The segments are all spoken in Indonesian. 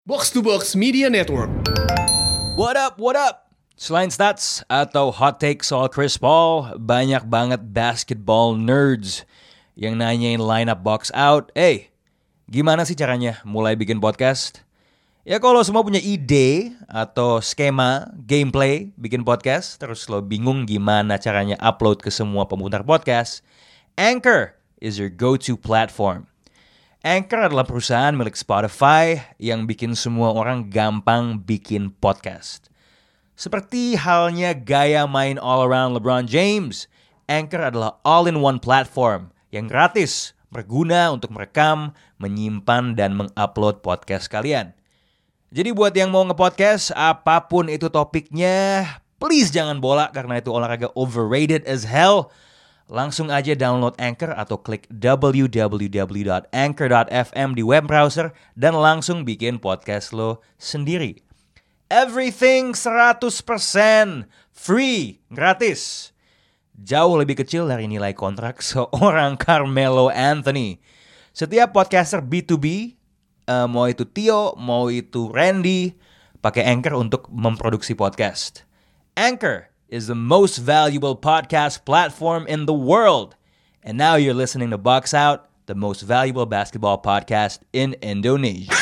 Box to Box Media Network. What up, what up? Selain stats atau hot take soal Chris Paul, banyak banget basketball nerds yang nanyain lineup box out. Gimana sih caranya mulai bikin podcast? Ya kalau semua punya ide atau skema, gameplay bikin podcast, terus lo bingung gimana caranya upload ke semua pemutar podcast, Anchor is your go-to platform. Anchor adalah perusahaan milik Spotify yang bikin semua orang gampang bikin podcast. Seperti halnya gaya main all-around LeBron James, Anchor adalah all-in-one platform yang gratis, berguna untuk merekam, menyimpan, dan mengupload podcast kalian. Jadi buat yang mau nge-podcast, apapun itu topiknya, please jangan bola karena itu olahraga overrated as hell. Langsung aja download Anchor atau klik www.anchor.fm di web browser dan langsung bikin podcast lo sendiri. Everything 100% free, gratis. Jauh lebih kecil dari nilai kontrak seorang Carmelo Anthony. Setiap podcaster B2B, mau itu Tio, mau itu Randy, pakai Anchor untuk memproduksi podcast. Anchor is the most valuable podcast platform in the world. And now you're listening to Box Out, the most valuable basketball podcast in Indonesia.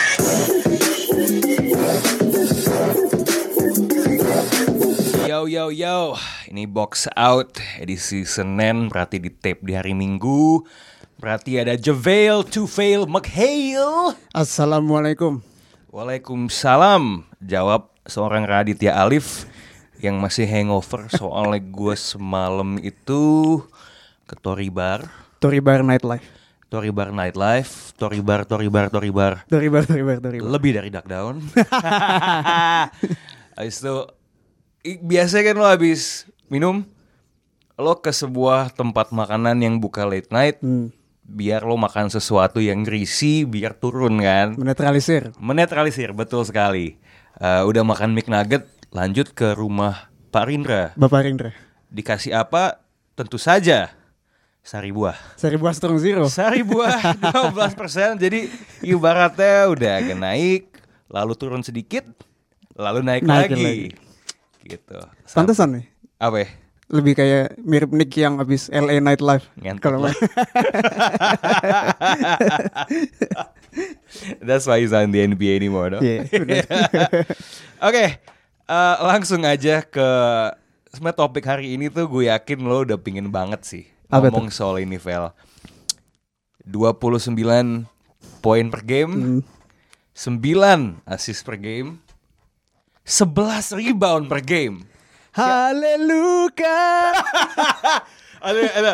Yo, ini Box Out edisi Senin, berarti di tape di hari Minggu. Berarti ada Javail, Tufail, McHale. Assalamualaikum. Waalaikumsalam. Jawab seorang Raditya Alif yang masih hangover soalnya gue semalam itu ke Tory Bar Nightlife. Lebih dari Duck Down. Habis itu biasanya kan lo habis minum, lo ke sebuah tempat makanan yang buka late night, biar lo makan sesuatu yang greasy, biar turun kan. Menetralisir, betul sekali. Udah makan McNugget, lanjut ke rumah Pak Rindra. Bapak Rindra. Dikasih apa? Tentu saja sari buah Strong Zero. Sari buah 12%. Jadi ibaratnya udah agak naik, lalu turun sedikit, lalu naik lagi. Gitu. Pantesan nih. Apa ya? Lebih kayak mirip Nick yang abis LA Nightlife. Ngentot lah. That's why he's not in the NBA anymore, no? Yeah, Oke, langsung aja ke sebenarnya topik hari ini tuh gue yakin lo udah pingin banget sih ngomong soal ini, Vel. 29 poin per game, 9 assist per game, 11 rebound per game. Haleluya. Ada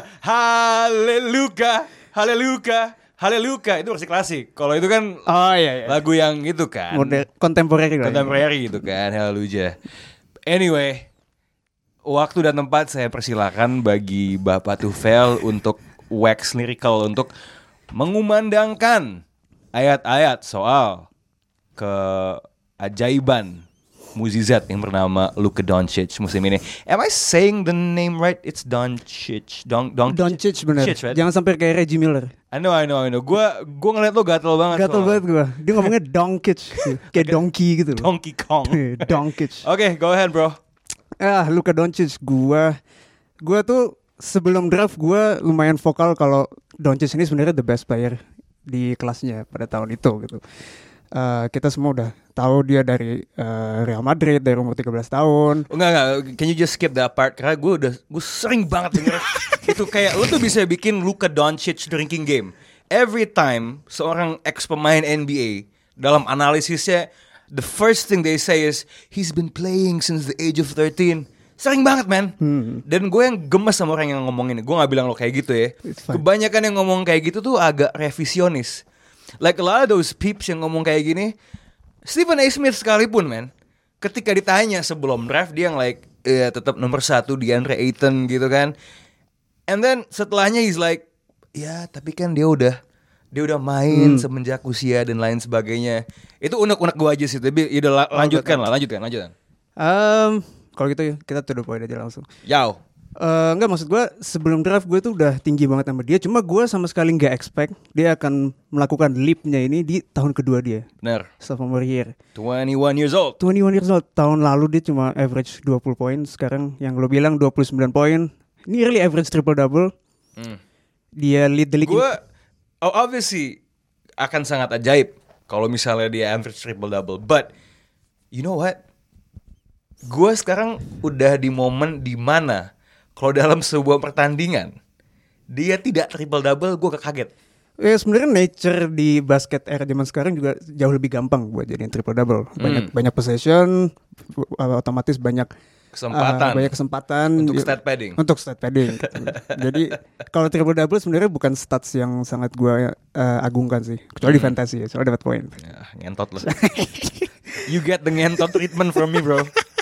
Haleluya itu versi klasik. Kalau itu kan lagu yang itu kan Kontemporer gitu kan, Haleluya. Anyway, waktu dan tempat saya persilakan bagi Bapak Tufail untuk wax lyrical, untuk mengumandangkan ayat-ayat soal keajaiban mukjizat yang bernama Luka Doncic musim ini. Am I saying the name right? It's Doncic. Doncic bener. Right? Jangan sampai kayak Reggie Miller. I know. Gua ngeliat lo gatel banget. Gua. Dia ngomongnya Doncic, kayak donkey gitu loh. Donkey Kong. Doncic. Oke, go ahead, bro. Luka Doncic, gua tuh sebelum draft gua lumayan vokal kalau Doncic ini sebenarnya the best player di kelasnya pada tahun itu gitu. Kita semua udah tahu dia dari Real Madrid dari umur 13 tahun. Enggak. Can you just skip that part? Karena gue sering banget denger itu kayak lo tuh bisa bikin Luka Doncic drinking game. Every time seorang ex pemain NBA dalam analisisnya, the first thing they say is he's been playing since the age of 13. Sering banget, man. Dan gue yang gemes sama orang yang ngomong ini. Gue gak bilang lo kayak gitu ya. Kebanyakan yang ngomong kayak gitu tuh agak revisionis. Like a lot of those peeps yang ngomong kayak gini, Stephen A. Smith sekalipun, man, ketika ditanya sebelum draft, dia yang like, tetap nomor 1 DeAndre Ayton gitu kan. And then setelahnya he's like, ya tapi kan dia udah main semenjak usia dan lain sebagainya. Itu unek-unek gue aja sih. Tapi lanjutkan. Kalau gitu ya, kita to the point aja langsung. Yao. Enggak, maksud gue sebelum draft gue tuh udah tinggi banget sama dia. Cuma gue sama sekali nggak expect dia akan melakukan leapnya ini di tahun kedua dia. Benar. Sophomore year. 21 years old. 21 years old. Tahun lalu dia cuma average 20 poin. Sekarang yang lo bilang 29 poin. Ini really average triple-double. Dia lead the league. Gue obviously akan sangat ajaib kalau misalnya dia average triple-double. But you know what? Gue sekarang udah di momen di mana kalau dalam sebuah pertandingan dia tidak triple double, gue kaget. Ya sebenarnya nature di basket era zaman sekarang juga jauh lebih gampang buat jadiin triple double. Banyak possession, otomatis banyak kesempatan untuk stat padding. Untuk stat padding. Jadi kalau triple double sebenarnya bukan stats yang sangat gue agungkan sih, kecuali di fantasy ya, soalnya dapat poin. Ya, ngentot loh. You get the ngentot treatment from me, bro.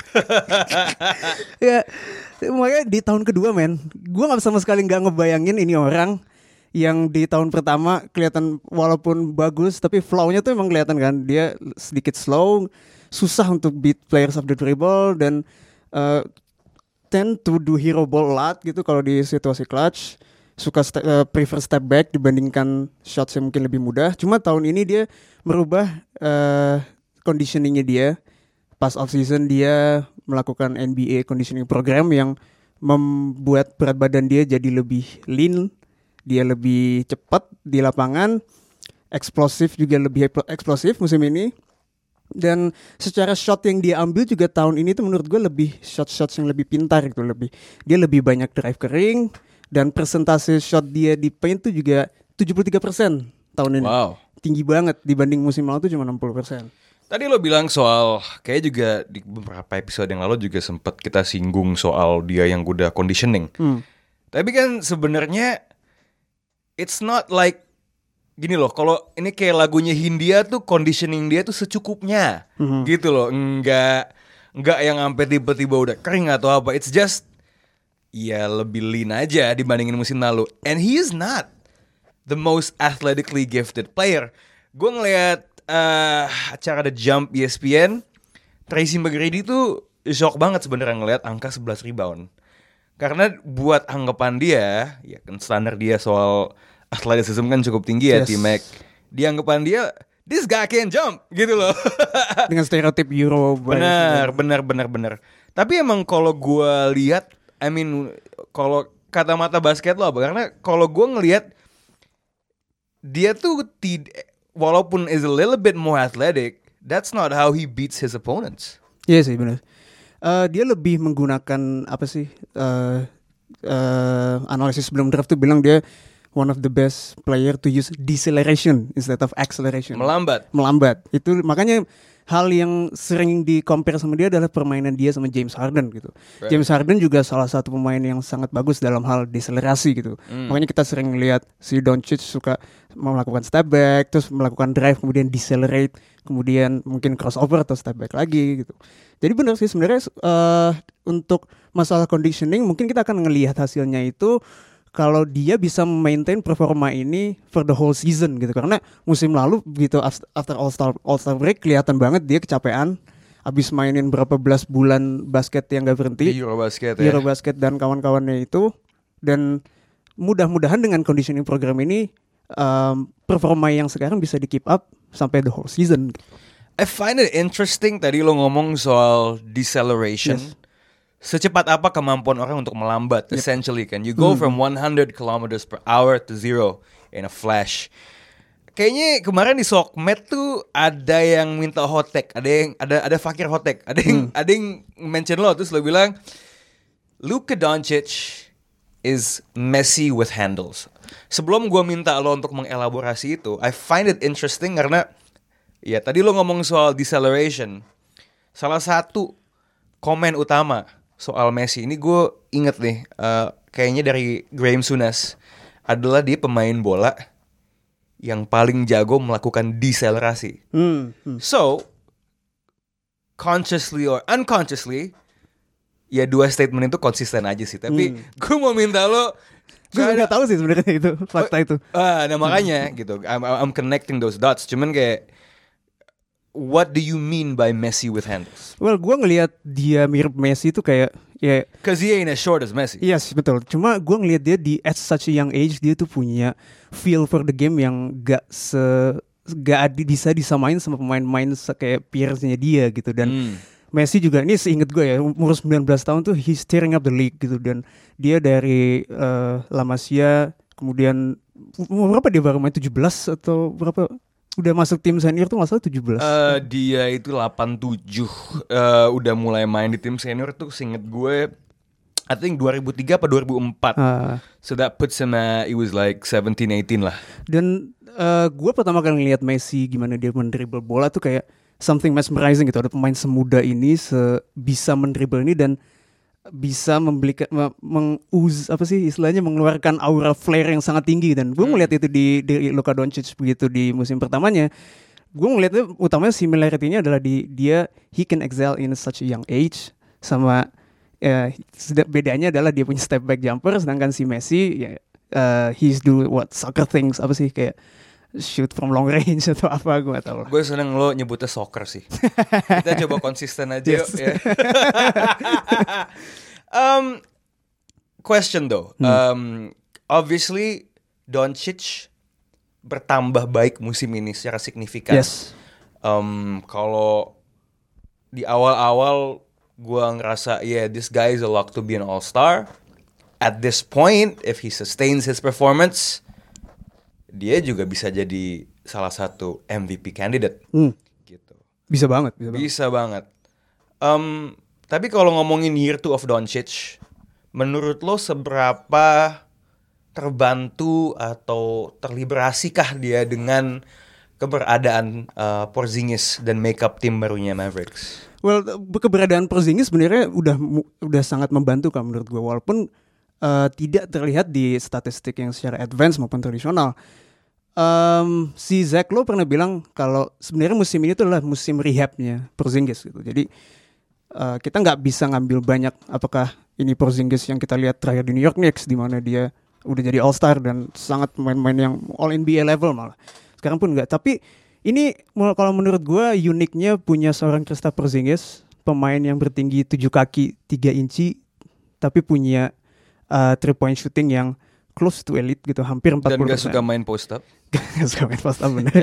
Ya, makanya di tahun kedua gue nggak sama sekali nggak ngebayangin ini orang yang di tahun pertama kelihatan walaupun bagus tapi flow-nya tuh emang kelihatan kan, dia sedikit slow, susah untuk beat players of the dribble dan tend to do hero ball a lot gitu kalau di situasi clutch, suka prefer step back dibandingkan shots yang mungkin lebih mudah. Cuma tahun ini dia merubah conditioningnya dia. Pas off season dia melakukan NBA conditioning program yang membuat berat badan dia jadi lebih lean, dia lebih cepat di lapangan, eksplosif juga lebih eksplosif musim ini. Dan secara shot yang dia ambil juga tahun ini tuh menurut gue lebih shots yang lebih pintar gitu, dia lebih banyak drive ke ring dan persentase shot dia di paint tuh juga 73% tahun ini. Wow. Tinggi banget dibanding musim lalu tuh cuma 60%. Tadi lo bilang soal, kayak juga di beberapa episode yang lalu juga sempat kita singgung soal dia yang udah conditioning. Tapi kan sebenarnya it's not like gini loh, kalau ini kayak lagunya Hindia tuh conditioning dia tuh secukupnya, gitu loh, enggak yang sampai tiba-tiba udah kering atau apa. It's just ya lebih lean aja dibandingin musim lalu. And he is not the most athletically gifted player. Gue ngeliat acara The Jump ESPN, Tracy McGrady tuh shock banget sebenarnya ngeliat angka 11 rebound. Karena buat anggapan dia, ya kan standar dia soal athleticism kan cukup tinggi ya, T-Mac. Di anggapan dia, this guy can jump gitu loh. Dengan stereotip Euro. Benar. Tapi emang kalau gue lihat, I mean kalau kata-mata basket lo apa? Karena kalau gue ngelihat dia tuh walaupun is a little bit more athletic, that's not how he beats his opponents. Iya sih benar. Dia lebih menggunakan apa sih? Analisis sebelum draft tuh bilang dia one of the best player to use deceleration instead of acceleration. Melambat. Itu makanya hal yang sering di-compare sama dia adalah permainan dia sama James Harden gitu. Right. James Harden juga salah satu pemain yang sangat bagus dalam hal deselerasi gitu. Makanya kita sering lihat si Doncic suka melakukan step back, terus melakukan drive, kemudian decelerate, kemudian mungkin crossover atau step back lagi gitu. Jadi benar sih sebenarnya untuk masalah conditioning mungkin kita akan ngelihat hasilnya itu kalau dia bisa maintain performa ini for the whole season gitu. Karena musim lalu gitu after All-Star break kelihatan banget dia kecapean. Abis mainin berapa belas bulan basket yang gak berhenti. Eurobasket dan kawan-kawannya itu. Dan mudah-mudahan dengan conditioning program ini performa yang sekarang bisa di keep up sampai the whole season. I find it interesting tadi lo ngomong soal deceleration. Yes. Secepat apa kemampuan orang untuk melambat, essentially kan. You go from 100 kilometers per hour to 0 in a flash. Kayaknya kemarin di Sokmed tuh ada yang minta hot take, ada fakir hot take, ada yang mention lo terus lo bilang Luka Doncic is messy with handles. Sebelum gue minta lo untuk mengelaborasi itu, I find it interesting karena ya tadi lo ngomong soal deceleration. Salah satu komen utama soal Messi ini gue inget nih, kayaknya dari Graham Souness, adalah dia pemain bola yang paling jago melakukan deselerasi. So consciously or unconsciously, ya dua statement itu konsisten aja sih. Tapi gue mau minta lo, gue nggak tahu sih sebenarnya itu fakta itu. Nah makanya gitu, I'm connecting those dots. Cuman kayak, what do you mean by Messi with handles? Well, gue ngelihat dia mirip Messi itu kayak Ya, Cause he ain't as short as Messi. yes, betul. Cuma gue ngeliat dia di at such a young age, dia tuh punya feel for the game yang bisa disamain sama pemain-pemain kayak peersnya dia gitu. Dan Messi juga, ini seinget gue ya, umur 19 tahun tuh he's tearing up the league gitu. Dan dia dari La Masia, kemudian umur berapa dia baru main, 17 atau berapa? Udah masuk tim senior tuh nggak salah 17. Dia itu 87 udah mulai main di tim senior tuh seinget gue I think 2003 apa 2004. So that puts him it was like 17-18 lah. Dan gue pertama kali ngeliat Messi gimana dia mendribble bola tuh kayak something mesmerizing gitu. Ada pemain semuda ini bisa mendribble ini dan bisa mengeluarkan aura flare yang sangat tinggi. Dan gue ngeliat itu di Luka Doncic begitu di musim pertamanya. Gue ngeliatnya utamanya similarity-nya adalah he can excel in such a young age. Sama bedanya adalah dia punya step back jumper, sedangkan si Messi he's do soccer things, apa sih, kayak shoot from long range atau apa, gue gak tahu. Gue seneng lo nyebutnya soccer sih. Kita coba konsisten aja yuk. Ya. Question though, obviously Doncic bertambah baik musim ini secara signifikan. Yes. Kalau di awal-awal gue ngerasa this guy is a lock to be an all-star. At this point, if he sustains his performance, dia juga bisa jadi salah satu MVP candidate. Gitu. Bisa banget. Bisa banget. Tapi kalau ngomongin year 2 of Doncic, menurut lo seberapa terbantu atau terliberasikah dia dengan keberadaan Porzingis dan makeup tim barunya Mavericks? Well, keberadaan Porzingis sebenarnya udah sangat membantu kan menurut gue, walaupun tidak terlihat di statistik yang secara advance maupun tradisional. Si Zach Lowe pernah bilang kalau sebenarnya musim ini tuh adalah musim rehabnya Porzingis gitu. Jadi kita nggak bisa ngambil banyak apakah ini Porzingis yang kita lihat terakhir di New York Knicks di mana dia udah jadi All Star dan sangat pemain-pemain yang All NBA level malah. Sekarang pun nggak. Tapi ini kalau menurut gue uniknya punya seorang Kristaps Porzingis, pemain yang bertinggi 7 kaki 3 inci tapi punya 3-point shooting yang close to elite gitu, hampir 40%. Dan gak suka main post up. Gak suka main post up, bener.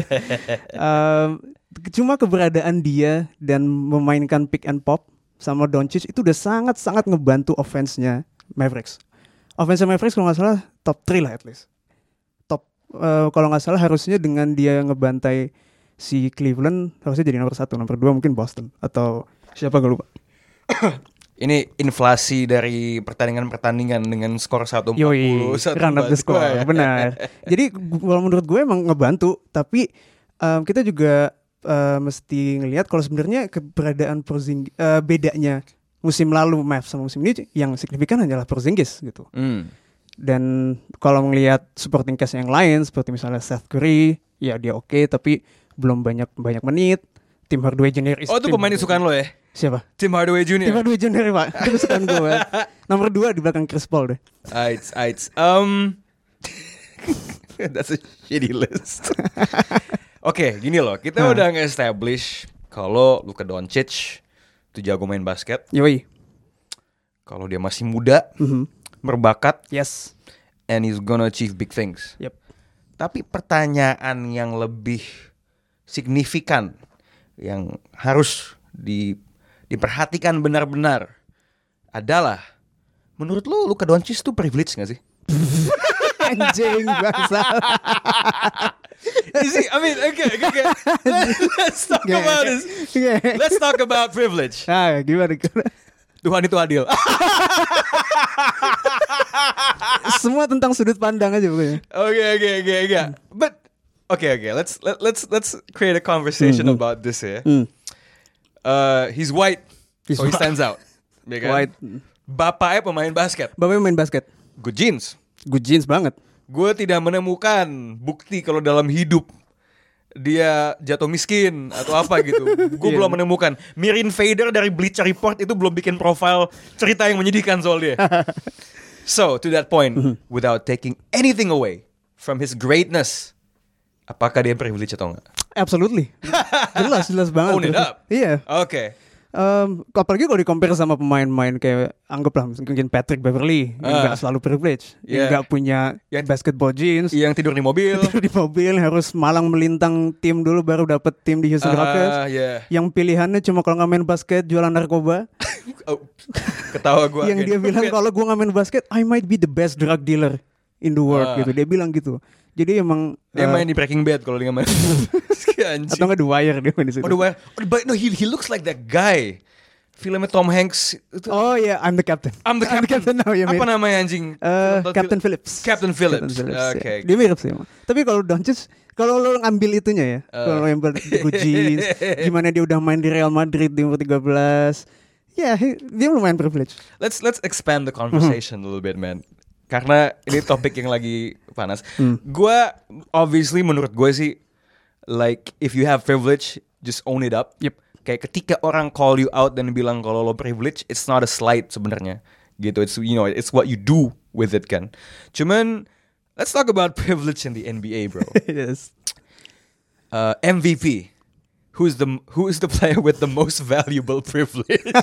Cuma keberadaan dia dan memainkan pick and pop sama Doncic itu udah sangat-sangat ngebantu offense-nya Mavericks. Offense-nya Mavericks kalau gak salah top 3 lah at least. Kalau gak salah harusnya dengan dia ngebantai si Cleveland harusnya jadi nomor 1, nomor 2 mungkin Boston atau siapa gak lupa. Ini inflasi dari pertandingan-pertandingan dengan skor 140. Run up the score, ya. Benar. Jadi kalau menurut gue emang ngebantu, tapi kita juga mesti ngelihat kalau sebenarnya keberadaan Porzingis, bedanya musim lalu Mavs sama musim ini yang signifikan hanyalah Porzingis gitu. Dan kalau ngelihat supporting cast yang lain seperti misalnya Seth Curry, ya dia oke, tapi belum banyak menit. Tim Hardaway Jr. Oh, itu pemain kesukaan lo ya? Siapa? Tim Hardaway Jr. Tim Hardaway Jr. Pak. Itu kesukaan gue. Nomor 2 di belakang Chris Paul deh. Aight. That's a shitty list. Oke, gini loh. Kita udah nge-establish kalau Luka Doncic itu jago main basket. Yoi. Kalau dia masih muda, berbakat. Yes. And he's gonna achieve big things. Yep. Tapi pertanyaan yang lebih signifikan yang harus diperhatikan benar-benar adalah, menurut lo Luka Doncic tuh privilege gak sih? Anjing bangsa. I mean, okay. Let's talk about this. Let's talk about privilege. Gimana? Tuhan itu adil. Semua tentang sudut pandang aja pokoknya. Okay. But okay. Let's create a conversation about this ya. He's white, so he stands out. Ya kan? White. Bapaknya pemain basket. Bapaknya main basket. Good genes banget. Gue tidak menemukan bukti kalau dalam hidup dia jatuh miskin atau apa gitu. Gue belum menemukan. Mirin Fader dari Bleacher Report itu belum bikin profile cerita yang menyedihkan soal dia. So to that point, without taking anything away from his greatness, apakah dia privilege atau enggak? Absolutely. Jelas banget. Own it up. Iya. Okay. Apalagi kalau di-compare sama pemain-pemain kayak anggaplah mungkin Patrick Beverley yang nggak selalu privilege, yang nggak punya basketball jeans, yang tidur di mobil, harus malang melintang tim dulu baru dapet tim di Houston Rockets, yang pilihannya cuma kalau nggak main basket jualan narkoba. Ketawa gue. Yang dia bilang kalau gue nggak main basket, I might be the best drug dealer in the world gitu. Dia bilang gitu. Jadi emang dia main di Breaking Bad kalau dia nggak main. Atau nggak The Wire dia main di situ. The Wire. But no, he looks like that guy. Filmnya Tom Hanks itu. Oh ya, I'm the captain. I'm the captain now, ya, apa namanya anjing? Captain Phillips. Captain Phillips. Okay. Dia mirip sih. Tapi kalau Doncic, kalau lo ngambil itunya ya, kalau yang jeans, gimana dia udah main di Real Madrid di umur 13. Ya, dia lumayan privilege. Let's expand the conversation a little bit, man. Karena ini topik yang lagi panas. Gue obviously menurut gue sih, like if you have privilege, just own it up. Yep. Kayak ketika orang call you out dan bilang kalau lo privilege, it's not a slight sebenarnya. Gitu, it's what you do with it kan. Cuman let's talk about privilege in the NBA, bro. Yes. MVP. Who is the player with the most valuable privilege?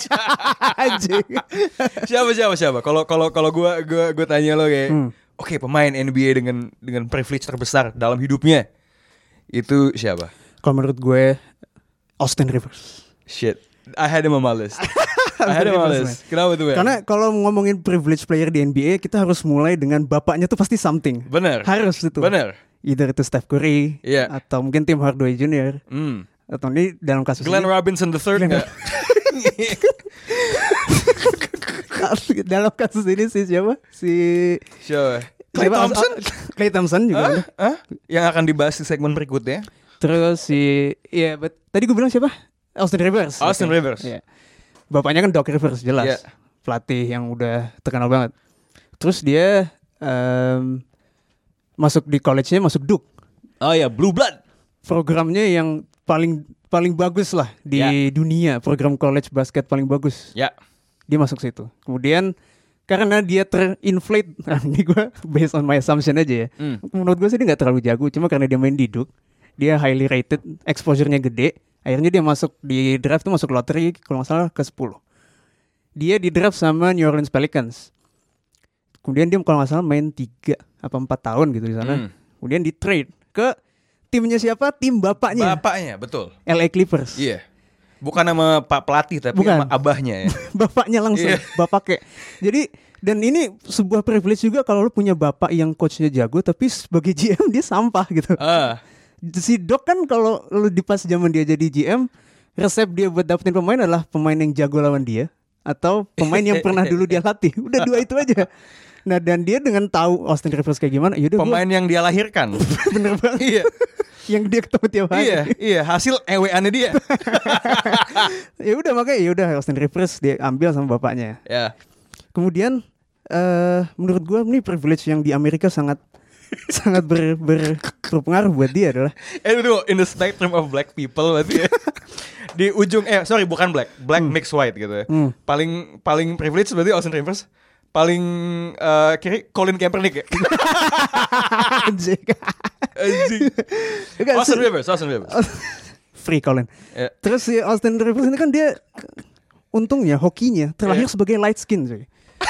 Siapa? Kalau gue tanya lo kayak, oke, pemain NBA dengan privilege terbesar dalam hidupnya itu siapa? Kalau menurut gue Austin Rivers. Shit, I had him on my list. Kenapa tuh? Karena kalau ngomongin privilege player di NBA, kita harus mulai dengan bapaknya tuh pasti something. Bener. Harus itu. Bener. Either itu Steph Curry, atau mungkin Tim Hardaway Jr. Atau ini dalam kasus Glenn Robinson III enggak? Dalam kasus ini sih siapa? Siapa? Klay Thompson juga. Yang akan dibahas di segmen berikutnya. Terus tadi gue bilang siapa? Austin Rivers. Yeah. Bapaknya kan Doc Rivers jelas. Pelatih yang udah terkenal banget. Terus dia masuk di college-nya masuk Duke. Oh ya, Blue Blood. Programnya yang paling bagus lah di dunia, program college basket paling bagus. Ya. Dia masuk situ. Kemudian karena dia terinflate, ini gue based on my assumption aja ya. Menurut gue sih dia nggak terlalu jago, cuma karena dia main di Duke, dia highly rated, exposure-nya gede. Akhirnya dia masuk di draft tuh masuk lottery kalau nggak salah ke 10. Dia di draft sama New Orleans Pelicans. Kemudian dia kalau nggak salah main 3 apa 4 tahun gitu di sana. Kemudian di trade ke timnya siapa? Tim bapaknya. Bapaknya, betul. LA Clippers. Iya. Bukan nama Pak Pelatih tapi nama abahnya ya. Bapaknya langsung, bapaknya. Jadi dan ini sebuah privilege juga kalau lu punya bapak yang coachnya jago tapi sebagai GM dia sampah gitu. Si Doc kan kalau lu di pas zaman dia jadi GM, resep dia buat dapetin pemain adalah pemain yang jago lawan dia atau pemain yang pernah dulu dia latih. Udah 2 itu aja. Nah dan dia dengan tahu Austin Rivers kayak gimana, yaudah pemain yang dia lahirkan. Bener banget. Iya. Yang dia ketemu tiap hari. Iya, hasil EW-annya dia. Ya udah makanya ya udah Austin Rivers dia ambil sama bapaknya. Ya. Kemudian menurut gue ini privilege yang di Amerika sangat berpengaruh buat dia adalah in the spectrum of black people berarti ya. Di ujung bukan black mixed white gitu ya. Paling privilege berarti Austin Rivers. Paling kiri Colin Kaepernick ya. Anjing. Austin Rivers. Free Colin. Terus si Austin Rivers ini kan dia untungnya hokinya terlahir sebagai light skin cuy.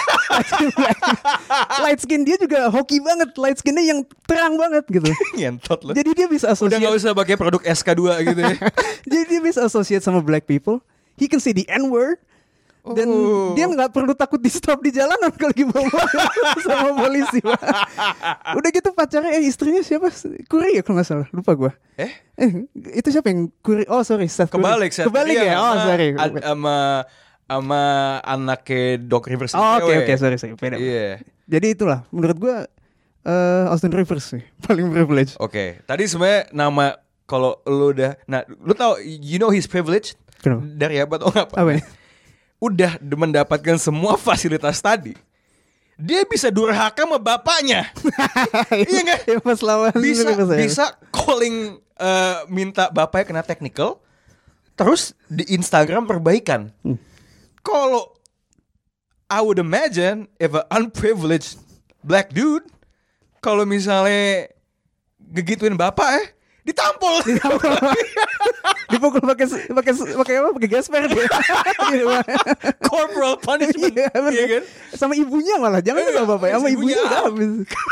Light skin dia juga hoki banget. Light skinnya yang terang banget gitu. Ngentot loh. Jadi dia bisa associate. Udah gak usah pakai produk SK2 gitu ya. Jadi dia bisa associate sama black people. He can say the N-word. Dan dia gak perlu takut di stop di jalanan kalau lagi bawa sama polisi. Udah gitu pacarnya istrinya siapa? Curry ya kalau gak salah. Lupa gue. Itu siapa yang Curry? Oh sorry, Steph Curry. Kebalik ya? Oh sorry. Sama anaknya Doc Rivers. Oh oke, sorry. Beda. Yeah. Jadi itulah menurut gue Austin Rivers sih paling privilege. Oke. Tadi sebenarnya nama kalau lu udah, nah lu tahu you know his privilege? Kenapa? Dari apa tau nggak? Apa ya? Udah mendapatkan semua fasilitas tadi, dia bisa durhaka sama bapaknya. Iya nggak? Ya, pas lawan bisa calling minta bapaknya kena technical, terus di Instagram perbaikan. Kalau I would imagine if an unprivileged black dude kalau misalnya ngegituin bapak ditampol. Dipukul pakai gasper dia. Corporal punishment. Iya, bener. Iya kan? Sama ibunya malah, jangan sama bapak, sama ibunya udah habis.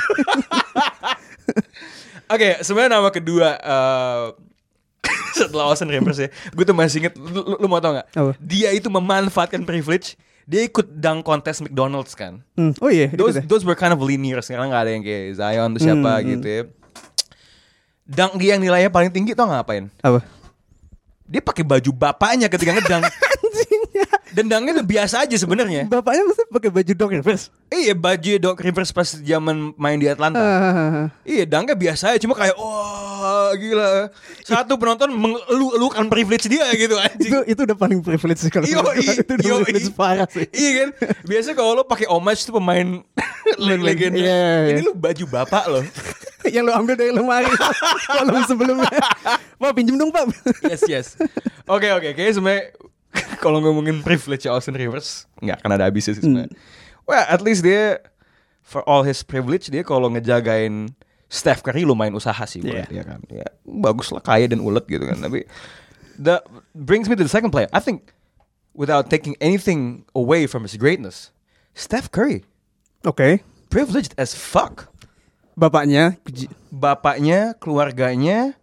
Oke, sebenarnya nama kedua setelah Austin Rivers ya, gue tuh masih inget. Lu mau tau nggak? Apa? Dia itu memanfaatkan privilege. Dia ikut dunk contest McDonald's kan. Oh iya, Those were kind of linear. Sekarang nggak ada yang kayak Zion tuh siapa gitu ya. Dunk dia yang nilainya paling tinggi tau nggak ngapain? Apa? Dia pakai baju bapaknya ketika ngedunk. Dan dunknya tuh biasa aja sebenarnya. Bapaknya mesti pakai baju Doc Rivers. Iya, baju Doc Rivers pas zaman main di Atlanta. Iya, dunknya biasa aja, cuma kayak wah gila. Satu penonton mengeluh-elukan privilege dia gitu anjing. Itu udah paling privilege sih kalau menurut gua. Itu udah privilege parah sih. Iya kan? Biasa kalau lo pakai homage tuh pemain legenda. Iya. Ini lu baju bapak lo. Yang lo ambil dari lemari malam sebelumnya. Pak pinjem dong Pak. Yes. Oke. Kayaknya sebenarnya kalau ngomongin privilege Austin Rivers nggak akan ada habisnya sih sebenarnya. Well, at least dia for all his privilege dia kalau ngejagain Steph Curry lumayan usaha sih buat dia kan. Ya, bagus lah, kaya dan ulet gitu kan. Tapi that brings me to the second player. I think without taking anything away from his greatness, Steph Curry. Oke. Privileged as fuck. Bapaknya, keluarganya.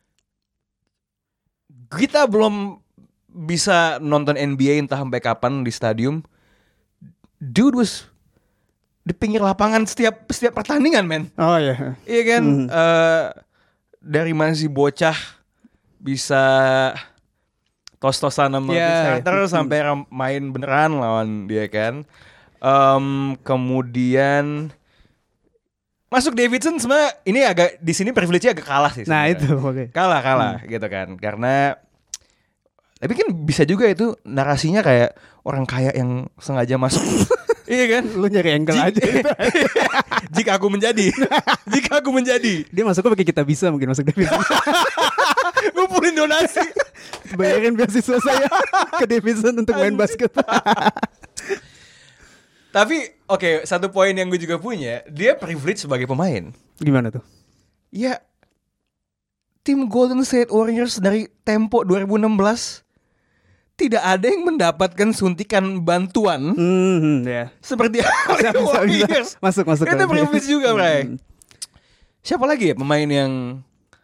Kita belum bisa nonton NBA entah sampai kapan di stadium. Dude was di pinggir lapangan setiap pertandingan, men. Oh iya. Iya kan? Dari masih bocah bisa tos-tosan sama starter sampai main beneran lawan dia kan. Kemudian masuk Davidson sebenarnya ini agak di sini privilege-nya agak kalah sih. Nah sebenernya. itu oke. Kalah gitu kan. Karena tapi kan bisa juga itu narasinya kayak orang kaya yang sengaja masuk. Iya kan? Lu nyari angle aja. Jika aku menjadi. Dia masuknya pakai kita bisa mungkin masuk Davidson. Ngumpulin donasi. Bayarin beasiswa saya ke Davidson untuk main basket. Tapi oke, satu poin yang gue juga punya, dia privilege sebagai pemain. Gimana tuh? Ya, tim Golden State Warriors dari tempo 2016 tidak ada yang mendapatkan suntikan bantuan seperti Warriors. Masuk. Itu privilege juga, Bray. Siapa lagi ya pemain yang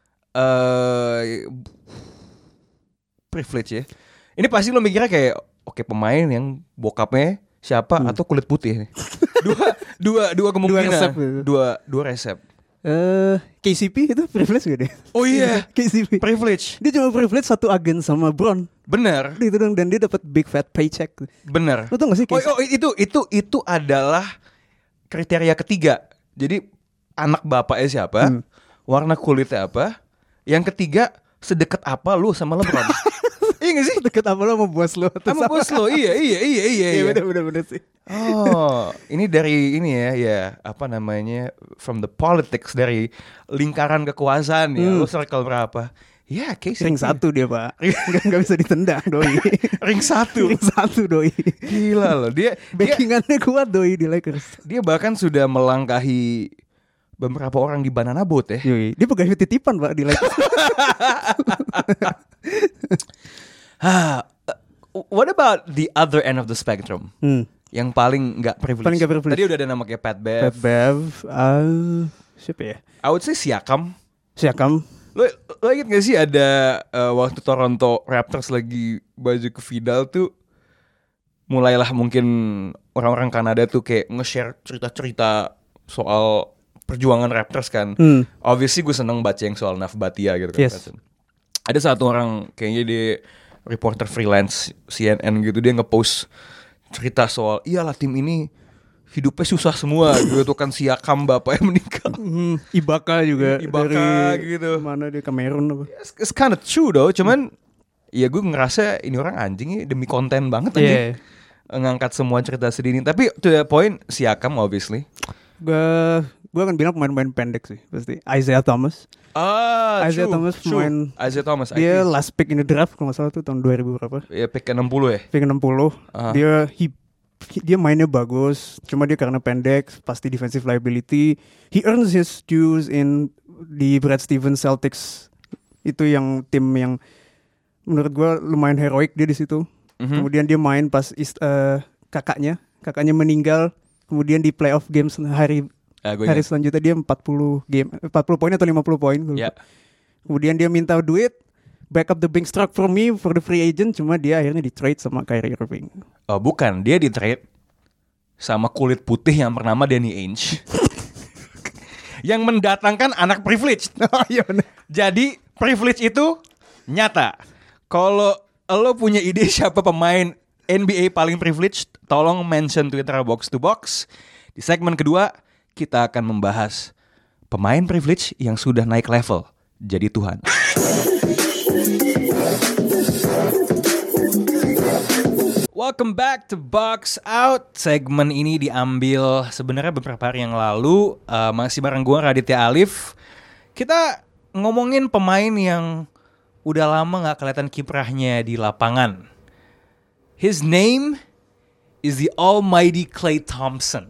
privilege ya? Ini pasti lo mikirnya kayak oke, pemain yang bokapnya siapa atau kulit putih. Dua kemungkinan. Dua resep. KCP itu privilege gak deh? Oh iya, KCP privilege. Dia cuma privilege satu agen sama Bron. Bener. Itu dong, dan dia dapat big fat paycheck. Bener. Lo tau gak sih? Itu adalah kriteria ketiga. Jadi anak bapaknya siapa, warna kulitnya apa, yang ketiga sedekat apa lu sama LeBron. Iya gak sih? Deket apa lo sama bos lo? Sama bos lo, iya. Iya bener sih. Oh, ini dari ini ya apa namanya, from the politics, dari lingkaran kekuasaan ya. Lo circle berapa? Ya, case Ring 1 dia Pak. Gak bisa ditendang doi. Ring 1 doi. Gila loh. Dia backingannya kuat doi di Lakers. Dia bahkan sudah melangkahi beberapa orang di Banana Boat ya. Yui. Dia pegawai titipan Pak di Lakers. What about the other end of the spectrum? Yang paling gak privilege. Tadi udah ada nama kayak Pat Bev. Siapa ya? I would say Siakam. Lo inget gak sih ada waktu Toronto Raptors lagi baju ke Vidal tuh, mulailah mungkin orang-orang Kanada tuh kayak nge-share cerita-cerita soal perjuangan Raptors kan. Obviously gue seneng baca yang soal Naf Bhatia gitu kan. Yes. Ada satu orang kayaknya dia reporter freelance CNN gitu, dia nge-post cerita soal iyalah tim ini hidupnya susah semua gitu kan, Siakam bapaknya meninggal. Ibaka juga dari gitu. Mana dia, Kamerun apa? It's kind of true though, cuman ya gue ngerasa ini orang anjing ya, demi konten banget aja. Ngangkat semua cerita sedih ini. Tapi to the point, Siakam obviously. Gue akan bilang pemain-pemain pendek sih pasti. Isaiah Thomas. Isaiah Thomas dia last pick in the draft kalau nggak salah tuh tahun 2000 berapa? Ya pick ke-60 ya. Pick ke-60. Dia mainnya bagus, cuma dia karena pendek pasti defensive liability. He earns his dues in di Brad Stevens Celtics Itu yang tim yang menurut gue lumayan heroik dia di situ. Kemudian dia main pas kakaknya meninggal. Kemudian di playoff games hari selanjutnya dia 40 poin atau 50 poin. Kemudian dia minta duit, back up the bank struck for me for the free agent, cuma dia akhirnya di trade sama Kyrie Irving. Oh bukan, dia di trade sama kulit putih yang bernama Danny Ainge. Yang mendatangkan anak privilege. Oh iya bener. Jadi privilege itu nyata. Kalau lo punya ide siapa pemain NBA paling privileged, tolong mention Twitter Box to Box. Di segmen kedua, kita akan membahas pemain privilege yang sudah naik level jadi Tuhan. Welcome back to Box Out. Segmen ini diambil sebenarnya beberapa hari yang lalu. Masih bareng gue Raditya Alif. Kita ngomongin pemain yang udah lama gak kelihatan kiprahnya di lapangan. His name is the almighty Klay Thompson.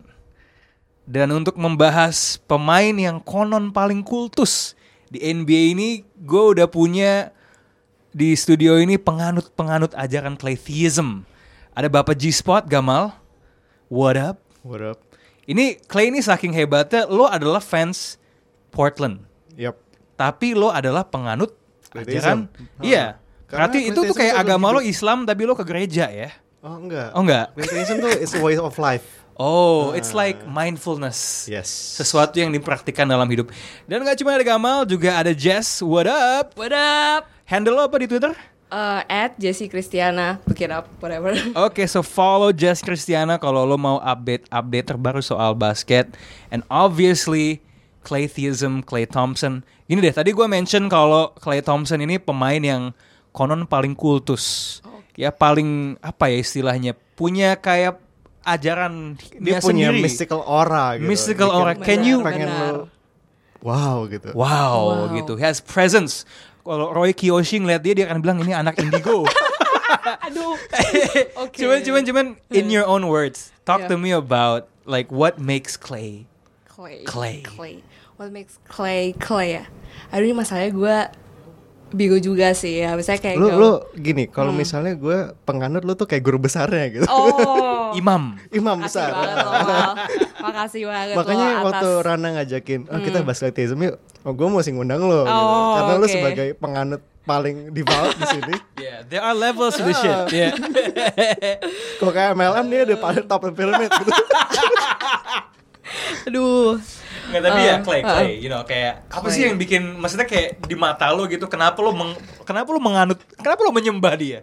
Dan untuk membahas pemain yang konon paling kultus di NBA ini, gue udah punya di studio ini penganut ajaran Claytheism. Ada Bapak G-Spot, Gamal. What up? What up? Ini Klay ini saking hebatnya, lo adalah fans Portland. Yep. Tapi lo adalah penganut ajaran. Iya. Karena Berarti itu tuh kayak agama lo Islam tapi lo ke gereja ya? Oh enggak. Oh enggak. Meditation tuh is a way of life. Oh, it's like mindfulness. Yes. Sesuatu yang dipraktikkan dalam hidup. Dan gak cuma ada Gamal, juga ada Jess. What up? What up? Handle lo apa di Twitter? At Jessie Christiana, look it up, whatever. Oke, so follow Jess Christiana kalau lo mau update terbaru soal basket. And obviously, Claytheism, Klay Thompson. Gini deh, tadi gue mention kalau Klay Thompson ini pemain yang konon paling kultus. Ya paling, apa ya istilahnya, punya kayak ajaran Dia sendiri. punya mystical aura gitu. Mystical aura. Can you pengen lo wow gitu. Wow, gitu. He has presence. Kalau Roy Kiyoshi ngeliat dia akan bilang ini anak indigo. Aduh. Oke. Cuman in your own words, talk Yeah. to me about like what makes Klay. Clay. What makes Clay ya? Aduh, ini masalahnya gue bingung juga sih ya. Misalnya kayak Lu gini, kalau misalnya gue penganut lu tuh kayak guru besarnya gitu. Oh. Imam Imam Makasih besar. banget loh. Makasih banget Makanya loh waktu atas. Rana ngajakin, kita bahas Claytheism yuk. Oh, gue mesti ngundang lo gitu. Oh, Karena lu oke. sebagai penganut paling devout di sini. Yeah, there are levels to the shit. Yeah. Kok kayak MLM dia ada paling top pyramid gitu. Aduh. Nggak, tapi ya Klay, you know, kayak apa sih yang bikin, maksudnya kayak di mata lo gitu, kenapa lo menganut, kenapa lo menyembah dia?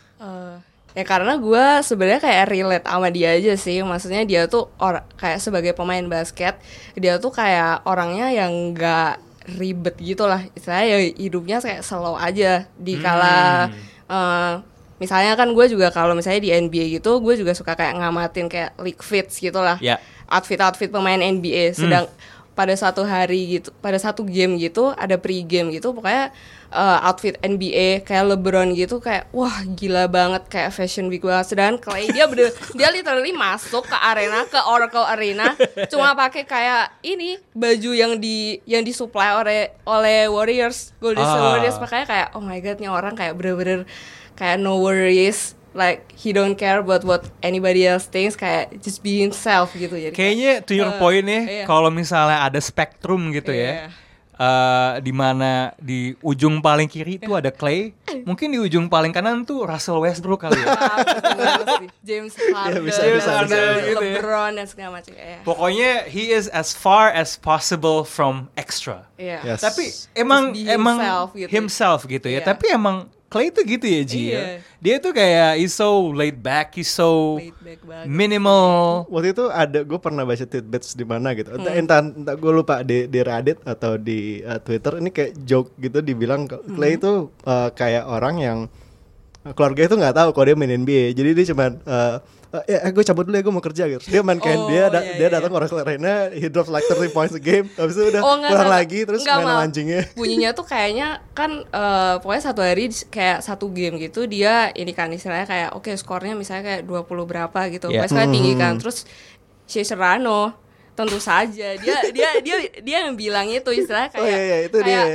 Ya karena gue sebenarnya kayak relate sama dia aja sih. Maksudnya dia tuh kayak sebagai pemain basket, dia tuh kayak orangnya yang gak ribet gitu lah. Istilahnya ya hidupnya kayak slow aja. Di kala misalnya kan gue juga kalau misalnya di NBA gitu, gue juga suka kayak ngamatin kayak league fits gitu lah. Ya. Outfit pemain NBA. Sedang pada satu hari gitu, pada satu game gitu, ada pre-game gitu, pokoknya outfit NBA kayak LeBron gitu, kayak wah gila banget, kayak fashion week banget. Sedangkan Klay dia dia literally masuk ke arena, ke Oracle Arena, cuma pakai kayak ini baju yang disuplai oleh Warriors, Golden State Warriors, makanya kayak oh my god, nih orang kayak bener-bener kayak no worries, like he don't care about what anybody else thinks, kayak just be himself gitu. Jadi Kayaknya to your point nih, iya. kalau misalnya ada spektrum gitu ya, di mana di ujung paling kiri itu ada Klay, mungkin di ujung paling kanan tuh Russell Westbrook kali ya. James Harden, bisa, gitu ya. LeBron dan segala macam. Pokoknya he is as far as possible from extra. Iya. Yes. Tapi emang Just be himself gitu. ya. Iya. Tapi emang Klay tuh gitu ya, Ji. Iya. Ya? Dia tuh kayak he's so laid back, he's so Laid back banget. minimal. Waktu itu gue pernah baca tidbits di mana gitu. Entah gue lupa di Reddit atau di Twitter, ini kayak joke gitu dibilang Klay itu kayak orang yang keluarga itu nggak tahu kalau dia main NBA. Jadi dia cuman gue cabut dulu ya, gue mau kerja gitu. Dia main kayak dia datang ke orang Arena, he drops like 30 points a game. Habis itu udah pulang lagi terus main sama anjingnya. Bunyinya tuh kayaknya kan pokoknya satu hari kayak satu game gitu, dia ini kan istilahnya kayak oke, skornya misalnya kayak 20 berapa gitu. Yeah. Pokoknya skornya tinggi kan. Terus si Serrano tentu saja dia yang bilang itu istilahnya kayak Oh, iya, itu dia ya.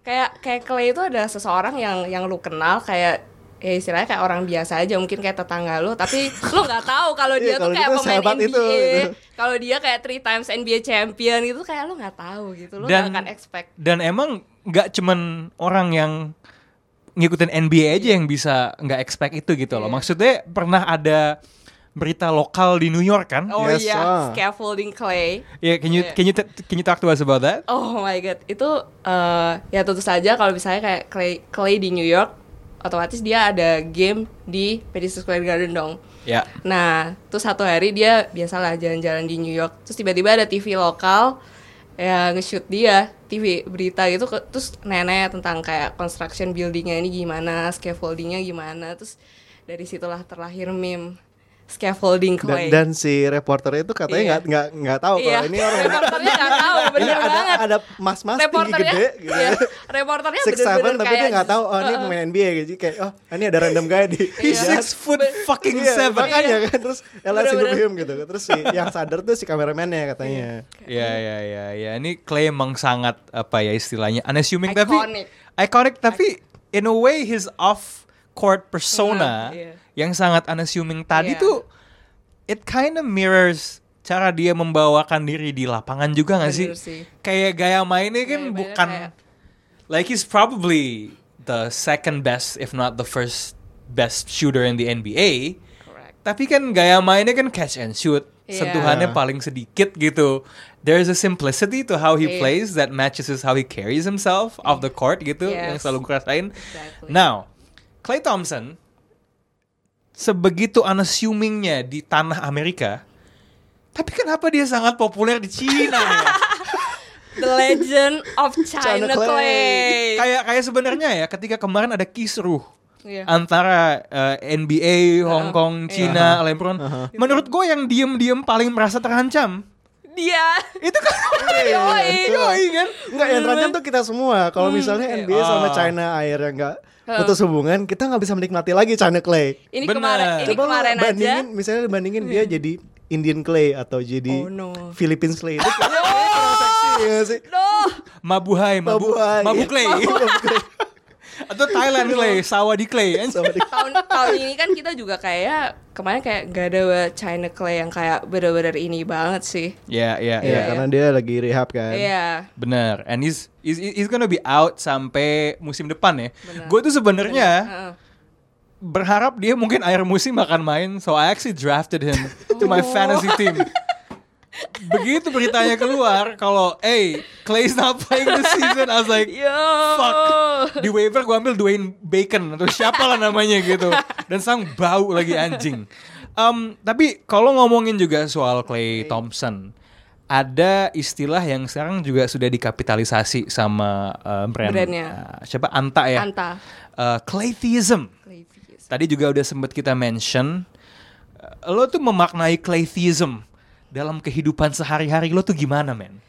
kayak Clay itu adalah seseorang yang lu kenal kayak ya istilahnya kayak orang biasa aja, mungkin kayak tetangga lu, tapi lu nggak tahu kalau dia Iya, tuh kalau kayak gitu pemain sehebat NBA, itu, gitu. kalau dia kayak 3 times NBA champion gitu, kayak lu nggak tahu gitu, lu nggak akan expect. Dan emang nggak cuman orang yang ngikutin NBA aja yang bisa nggak expect itu gitu loh. Iya. Maksudnya pernah ada berita lokal di New York kan? Oh Yes, iya, scaffolding Clay. Yeah, can Yeah. you talk to us about that? Oh my god, itu ya tentu saja kalau misalnya kayak Clay di New York, otomatis dia ada game di Madison Square Garden dong. Ya. Nah, terus satu hari dia biasalah jalan-jalan di New York, terus tiba-tiba ada TV lokal ya nge-shoot dia, TV berita gitu, terus nenek tentang kayak construction buildingnya ini gimana, scaffoldingnya gimana, terus dari situlah terlahir meme scaffolding Clay. Dan si reporternya itu katanya nggak tahu Iya. kalau ini orang Reporternya nggak tahu, ini bener banget. ada mas-mas tinggi Reporternya, gede gitu. iya, reporternya 6'7", bener-bener tapi kayak dia nggak tahu oh ini pemain NBA gitu. Kayak oh ini ada random guy di He's Iya. 6'7" Iya, makanya Iya. kan terus LSU Bener-bener. him gitu. Terus si yang sadar tuh si kameramennya katanya. Ya. Ini Clay emang sangat apa ya istilahnya unassuming Iconic. tapi in a way his off court persona Iya. yang sangat unassuming tadi Iya. tuh it kind of mirrors cara dia membawakan diri di lapangan juga nggak sih? Bener sih. Kayak gaya mainnya kan Gaya mainnya bukan kayak- like he's probably the second best if not the first best shooter in the NBA. Correct. Tapi kan gaya mainnya kan catch and shoot. Iya. Sentuhannya paling sedikit gitu. There's a simplicity to how he Iya. plays that matches how he carries himself off the court gitu yang Yes. selalu gue rasain. Exactly. Now, Klay Thompson sebegitu unassumingnya di tanah Amerika, tapi kenapa dia sangat populer di Cina ya? The Legend of China China Clay. Kayak sebenarnya ya ketika kemarin ada kisruh Iya. antara NBA, Hong Kong, Cina, LeBron. Menurut gue yang diem-diem paling merasa terancam Dia. itu kan Yoi kan? Enggak yang terancam tuh kita semua. Kalau misalnya NBA sama China akhirnya nggak putus hubungan, kita nggak bisa menikmati lagi China Clay. Ini Bener. kemarin Coba aja. bandingin, misalnya bandingin dia jadi Indian Clay atau jadi Oh, no. Philippines Clay itu kurang seksi ya sih. Loh. Mabuhay, Mabuhay. Mabu Clay. Atau Thailand Clay, Sawadee Clay kan? Sama di- tahun ini kan kita juga kayak kemarin kayak gak ada China Clay yang kayak bener-bener ini banget sih. Ya, Iya, karena dia lagi rehab kan. Iya. benar. And he's gonna be out sampai musim depan ya. Benar. Gue tuh sebenarnya Heeh. berharap dia mungkin akhir musim akan main, so I actually drafted him to my fantasy team. Begitu beritanya keluar kalau Clay's not playing this season, I was like, Yo. fuck. Di waiver gue ambil Dwayne Bacon atau siapa lah namanya gitu, dan sang bau lagi anjing. Tapi kalau ngomongin juga soal Klay Thompson, ada istilah yang sekarang juga sudah dikapitalisasi sama Brandnya. siapa Anta ya? Anta. Claytheism. Tadi juga udah sempet kita mention, lo tuh memaknai Claytheism dalam kehidupan sehari-hari lo tuh gimana, man?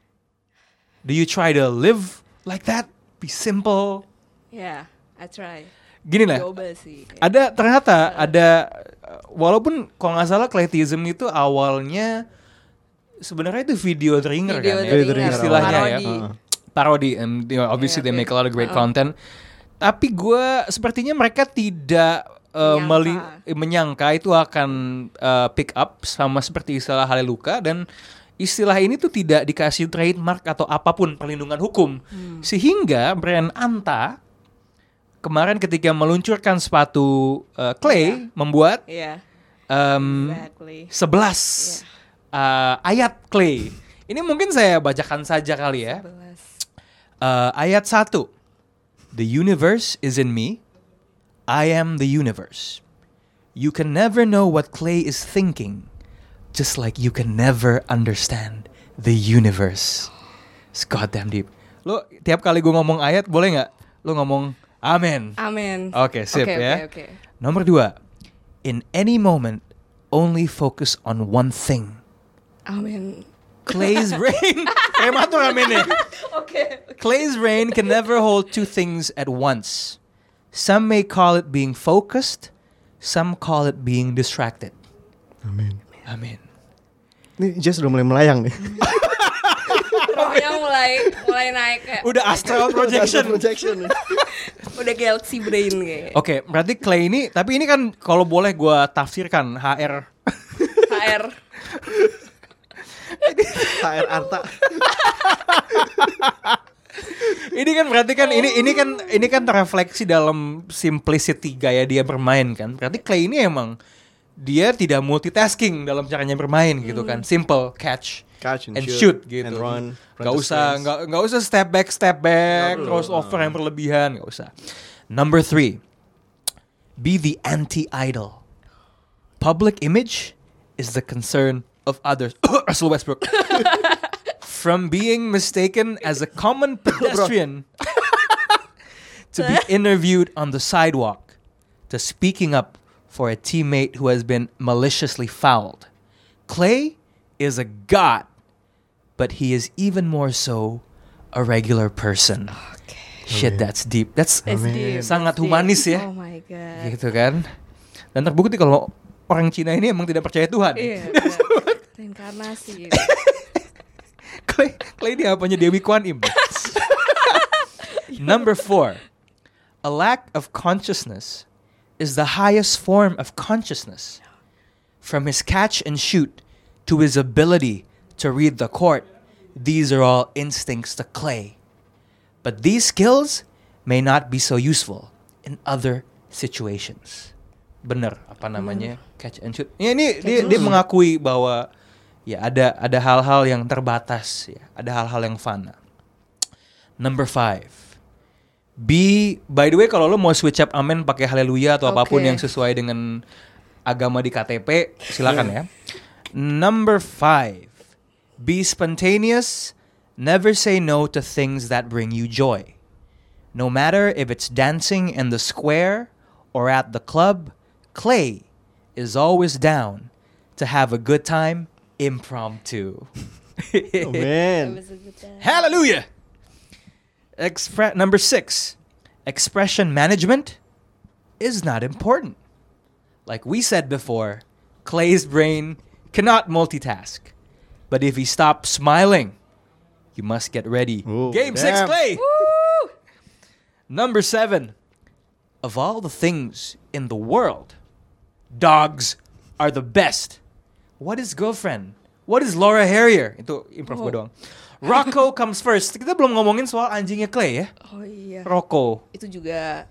Do you try to live like that? Be simple? Yeah, I try. Gini lah, Coba sih. ternyata ada, walaupun kalau nggak salah Claytheism itu awalnya sebenarnya itu video dringer kan ya, Video dringer istilahnya ya. parodi. Parody, and you know, obviously they make a lot of great content. Tapi gue sepertinya mereka tidak menyangka itu akan pick up sama seperti istilah Haleluka, dan istilah ini tuh tidak dikasih trademark atau apapun perlindungan hukum. Sehingga brand Anta kemarin ketika meluncurkan sepatu Clay membuat Iya. Exactly. Exactly. 11 ayat Clay. Ini mungkin saya bacakan saja kali ya. Ayat 1. The universe is in me. I am the universe. You can never know what Clay is thinking, just like you can never understand the universe. It's goddamn deep. Lo tiap kali gue ngomong ayat boleh nggak? Lo ngomong amen. Amin. Oke, sip ya. Oke. Nomor 2. In any moment, only focus on one thing. Amin. Clay's reign. Prematur aminnya. Oke. Clay's reign can never hold two things at once. Some may call it being focused, some call it being distracted. Amin. Amin. Ini Jess udah mulai melayang nih. rohnya mulai naik kayak Udah astral projection. udah galaxy brain kayak. Oke, berarti Clay ini, tapi ini kan kalau boleh gue tafsirkan HR. HR. HR Arta. Ini kan berarti kan ini kan terrefleksi dalam simplicity gaya dia bermain kan. Berarti Clay ini emang dia tidak multitasking dalam caranya bermain gitu kan. Simple catch and shoot gitu. And run Gak usah step back, crossover yang berlebihan, gak usah. Number 3, be the anti-idol. Public image is the concern of others. Russell Westbrook. From being mistaken as a common pedestrian to be interviewed on the sidewalk to speaking up for a teammate who has been maliciously fouled. Clay is a god, but he is even more so a regular person. Shit, that's deep. That's deep. sangat That's humanis deep. ya. Oh my god. Gitu kan. Dan terbukti kalau orang Cina ini emang tidak percaya Tuhan. Iya. benar. Reinkarnasi. Clay ini apanya Dewi Kwan Im. Number 4, a lack of consciousness is the highest form of consciousness. From his catch and shoot to his ability to read the court, these are all instincts to Clay. But these skills may not be so useful in other situations. Bener apa namanya catch and shoot. Ya, ini dia mengakui bahwa ya ada hal-hal yang terbatas ya, ada hal-hal yang fana. Number 5. By the way kalau lo mau switch up amen pakai haleluya atau apapun yang sesuai dengan agama di KTP, silakan ya. Number 5. Be spontaneous, never say no to things that bring you joy. No matter if it's dancing in the square or at the club, Clay is always down to have a good time impromptu. Oh man. Hallelujah. Number 6. Expression management is not important. Like we said before, Clay's brain cannot multitask. But if he stops smiling, you must get ready. Ooh, Game 6, damn. Clay. Number 7. Of all the things in the world, dogs are the best. What is girlfriend? What is Laura Harrier? Itu improv gue doang. Rocco comes first. Kita belum ngomongin soal anjingnya Clay ya. Oh iya. Rocco. Itu juga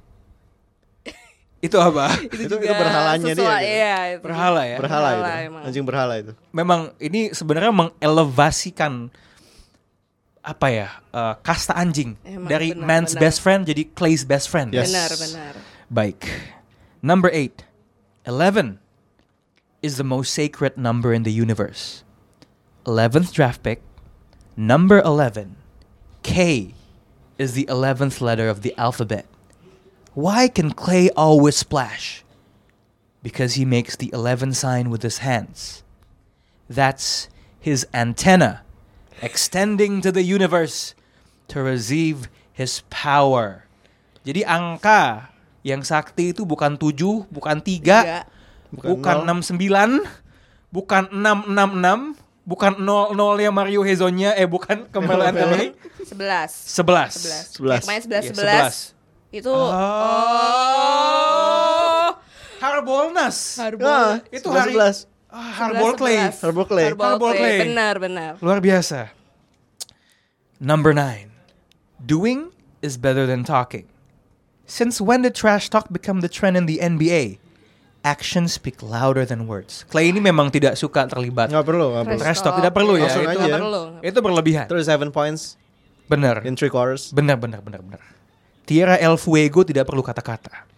Itu apa? Itu berhalanya dia. Iya, itu. Berhala ya. Berhala itu. emang. Anjing berhala itu. Memang ini sebenarnya mengelevasikan apa ya? Kasta anjing Emang, dari benar, man's benar. best friend jadi Clay's best friend. Yes. Benar. Baik. Number 8. 11 is the most sacred number in the universe. 11th draft pick, number 11. K is the 11th letter of the alphabet. Why can Clay always splash? Because he makes the 11 sign with his hands. That's his antenna extending to the universe to receive his power. Jadi angka yang sakti itu bukan 7, bukan 3, bukan 69, bukan 666, bukan 00 yang Mario Hezonnya, bukan Carmelo Anthony. 11. 11. Main 11. Itu Harbolnas. Itu 11. Harbol Clay. Harbol Clay. Harbol Clay. Benar. Luar biasa. Number 9. Doing is better than talking. Since when did trash talk become the trend in the NBA? Actions speak louder than words. Clay ini memang tidak suka terlibat. Nggak perlu. Trash talk tidak perlu ya. Langsung Itu, aja. itu berlebihan. 37 points Benar. in 3 quarters. Benar. Tierra El Fuego tidak perlu kata-kata.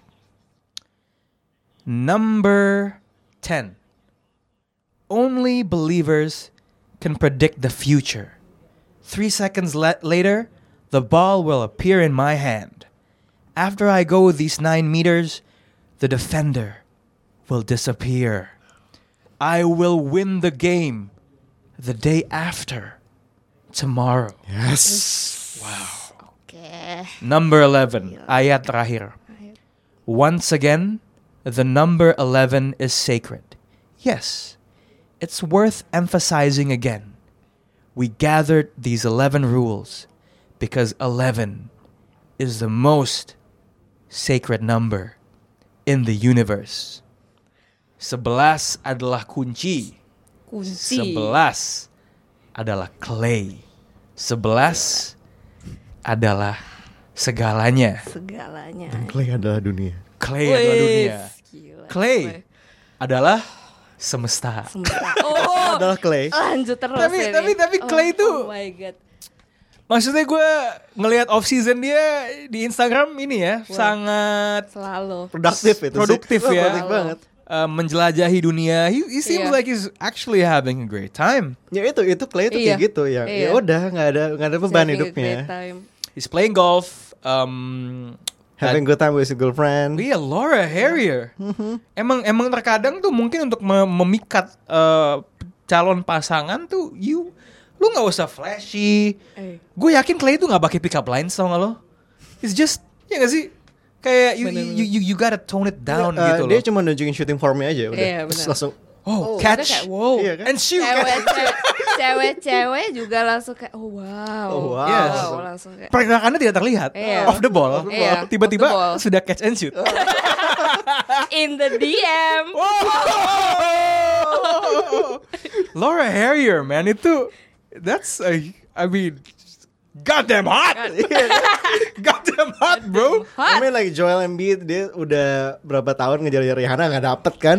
Number 10. Only believers can predict the future. 3 seconds later, the ball will appear in my hand. After I go these 9 meters, the defender will disappear. I will win the game the day after. Tomorrow. Yes. Number 11, ayat terakhir. Once again, the number 11 is sacred. Yes, it's worth emphasizing again. We gathered these 11 rules because 11 is the most sacred number in the universe. 11 adalah kunci. 11 adalah Clay. 11 adalah segalanya. Segalanya. Clay adalah dunia. Clay adalah dunia. Gila. Clay adalah semesta. Oh, Adalah Clay. lanjut terus Tapi- ini. tapi Clay tuh- Oh my god. Maksudnya gue ngelihat off season dia di Instagram ini ya sangat Selalu. Produktif itu produktif sih. ya. Produktif banget. Menjelajahi dunia. He seems Iya. like he's actually having a great time. Ya itu Clay itu Iya. kayak gitu ya. Iya. Ya udah nggak ada beban Having a hidupnya. great time. He's playing golf. Having good time with his girlfriend. Iya, Laura Harrier. Emang terkadang tuh mungkin untuk memikat calon pasangan tuh lu nggak usah flashy. Gue yakin Clay itu nggak pakai pick up lines, tau nggak lo? It's just ya nggak sih? Kayak you gotta tone it down gitu loh. Dia cuma nunjukin shooting formnya aja udah. Iya, Terus benar. langsung Oh, Udah catch. kayak, wow. Iya kan? And shoot. Cewek juga langsung kayak wow. Oh, wow. Yes. Langsung kayak Pergerakannya tidak terlihat. Iya. Off the ball. Iya, Tiba-tiba off the ball. sudah catch and shoot. in the DM. Laura Harrier, man, itu I mean, goddamn hot. Goddamn hot, bro. I mean like Joel Embiid dia udah berapa tahun ngejar Rihanna nggak dapet kan?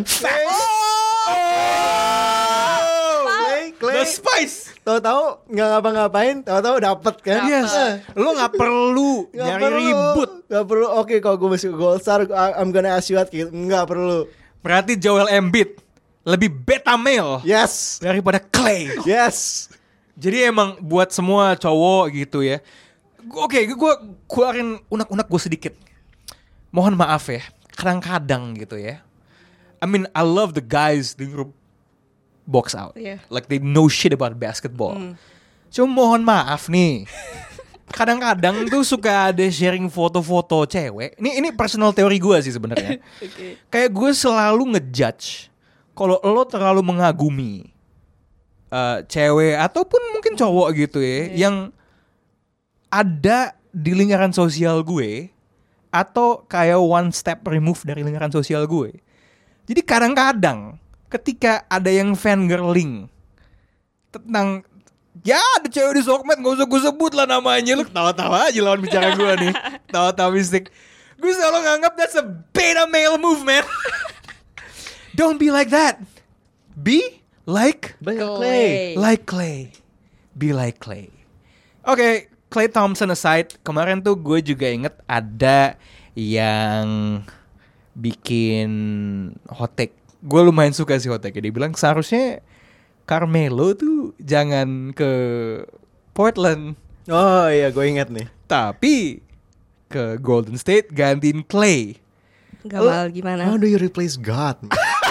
Clay, The Spice. tahu-tahu nggak ngapa-ngapain, tahu-tahu dapet kan? Yes. Lo nggak perlu Nggak nyari perlu. ribut. Nggak perlu. Oke, kalau gue masuk Gold Star, I'm gonna ask you out gitu. Nggak perlu. Berarti Joel Embiid lebih beta male Yes, daripada Clay. yes. Jadi emang buat semua cowok gitu ya. Oke, gue keluarin unek-unek gue sedikit. Mohon maaf ya, kadang-kadang gitu ya. I mean, I love the guys di grup box out. Yeah. Like they know shit about basketball. Cuma mohon maaf nih. Kadang-kadang tuh suka ada sharing foto-foto cewek. Ini personal teori gue sih sebenarnya. Kayak gue selalu ngejudge kalau lo terlalu mengagumi cewek ataupun mungkin cowok gitu ya, yang ada di lingkaran sosial gue atau kayak one step remove dari lingkaran sosial gue. Jadi kadang-kadang ketika ada yang fangirling tentang ya ada cewek di sokmed, gak usah gue sebut lah namanya, lu tawa-tawa aja lawan bicara gue nih, tawa-tawa mistik. Gue selalu nganggap that's a beta male move, man. Don't be like that. Be like Clay. Like Clay. Be like Clay. Oke, Clay Thompson aside, kemarin tuh gue juga inget ada yang bikin hot take. Gue lumayan suka sih hot take. Dia bilang seharusnya Carmelo tuh jangan ke Portland, Oh iya, gue ingat nih. tapi ke Golden State gantiin Clay. Gamal gimana? How do you replace God?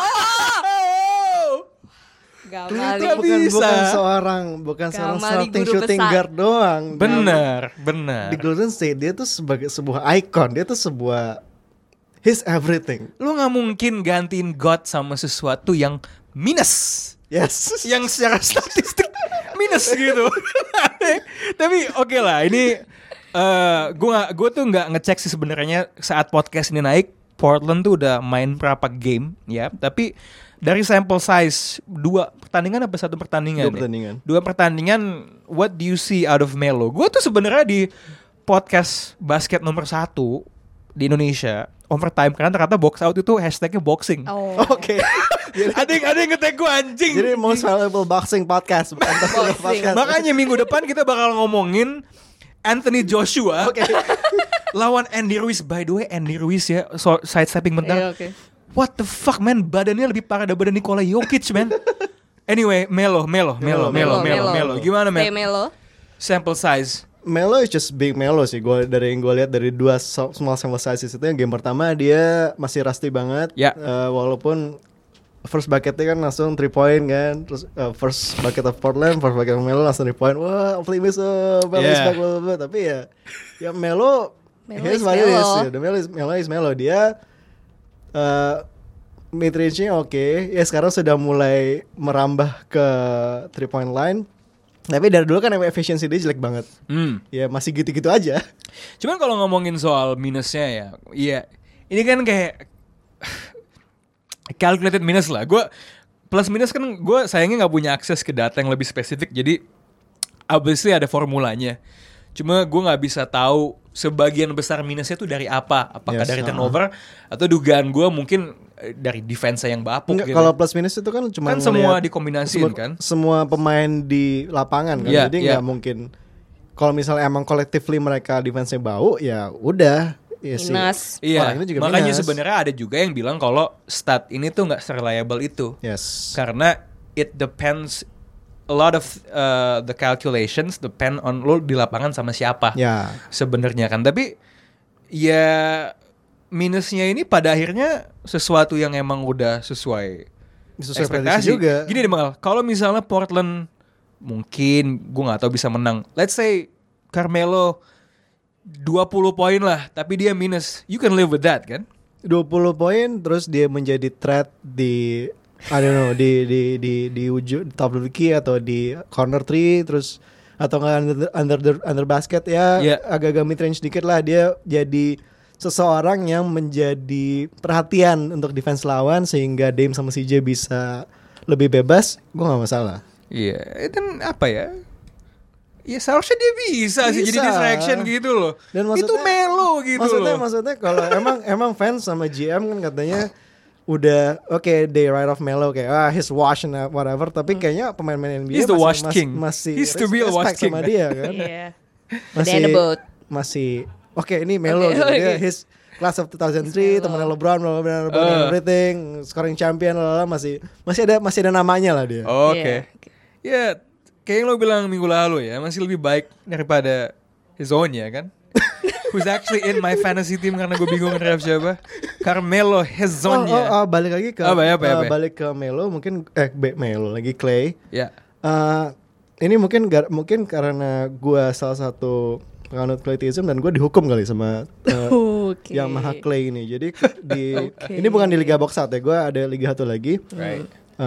Gamal Itu Nggak bukan bisa. bukan seorang Gamal di starting guru shooting besar. guard doang. Bener. Di Golden State dia tuh sebagai sebuah icon, dia tuh sebuah his everything. Lu nggak mungkin gantiin God sama sesuatu yang minus, Yes. yang secara statistik minus gitu. Tapi oke lah, ini gue tuh nggak ngecek sih sebenarnya saat podcast ini naik. Portland tuh udah main berapa game ya, tapi dari sample size 2 pertandingan apa 1 pertandingan? 2 pertandingan. 2 pertandingan. What do you see out of Melo? Gue tuh sebenarnya di podcast basket nomor 1 di Indonesia overtime, karena ternyata box out itu hashtagnya boxing. Oh. Oke. Ada yang nge-tag gue anjing. Jadi most valuable boxing podcast, bukan basketball Boxing. podcast. Makanya minggu depan kita bakal ngomongin Anthony Joshua Oke. lawan Andy Ruiz. By the way, Andy Ruiz ya, sidestepping bentar. Iya, oke. What the fuck, man? Badannya lebih parah daripada Nikola Jokic, man. Anyway, Melo. Gimana, Stay man? Melo. Sample size. Melo is just big Melo sih. Gue dari yang gue lihat dari 2 small sample sizes itu, yang game pertama dia masih rusty banget. Ya. Walaupun first bucketnya kan langsung 3 point kan. Terus first bucket of Portland, first bucket of Melo langsung 3 point. Wah, optimism, Melo is back, blah, blah, blah. Tapi ya Melo here's is what it is. Melo. Ya. The Melo is Melo. Dia mid range-nya oke. Ya sekarang sudah mulai merambah ke 3 point line. Tapi dari dulu kan efficiency dia jelek banget. Ya masih gitu-gitu aja. Cuman kalau ngomongin soal minusnya ya, iya ini kan kayak calculated minus lah. Gue plus minus kan gue sayangnya nggak punya akses ke data yang lebih spesifik. Jadi obviously ada formulanya. Cuma gue nggak bisa tahu sebagian besar minusnya tuh dari apa. Apakah dari turnover atau dugaan gue mungkin dari defense yang bapuk. Enggak, gitu. kalau plus minus itu kan cuma Kan semua dikombinasiin kan. Semua pemain di lapangan kan. Yeah, Jadi nggak mungkin. Kalau misalnya emang collectively mereka defense-nya bau, ya udah. Ya sih. Minus. Iya, Orang itu juga makanya minus. sebenarnya ada juga yang bilang kalau stat ini tuh nggak reliable itu. Yes. Karena it depends a lot of the calculations depend on lo di lapangan sama siapa. Ya. Sebenarnya kan, tapi ya minusnya ini pada akhirnya sesuatu yang emang udah sesuai Sesuai ekspektasi prediksi juga. Gini deh Mal, kalau misalnya Portland mungkin gue nggak tahu bisa menang. Let's say Carmelo 20 poin lah, tapi dia minus. You can live with that kan? 20 poin terus dia menjadi threat di I don't know di ujung top of the key atau di corner 3 terus atau nggak under basket ya Yeah. agak-agak mid range dikit lah, dia jadi seseorang yang menjadi perhatian untuk defense lawan sehingga Dame sama CJ bisa lebih bebas, gue nggak masalah. Iya, dan apa ya? Ya seharusnya dia bisa sih jadi Bisa. distraction gitu loh. Dan Itu Melo gitu loh. Maksudnya kalau emang fans sama GM kan katanya udah oke, they write off Melo kayak he's washed and whatever, tapi kayaknya pemain-pemain NBA He's the washed king. masih He's the real washed respect king. sama dia kan. Iya. Masih Banana boat. masih oke, ini Melo Oke, gitu. Dia oke. his class of 2003 Melo. temannya LeBron everything, scoring champion masih ada namanya lah dia. Oke. Ya, kayak yang lo bilang minggu lalu ya, masih lebih baik daripada Hezonja kan? Who's actually in my fantasy team karena gue bingung draft siapa. Carmelo Hezonja. Balik lagi ke Apa? balik ke Melo mungkin Melo lagi Clay. Ya. Ini mungkin karena gue salah satu penganut Claytism dan gue dihukum kali sama Oke. Yamaha Clay ini. Jadi Oke. ini bukan di Liga Box Out ya, gue ada Liga satu lagi. Right.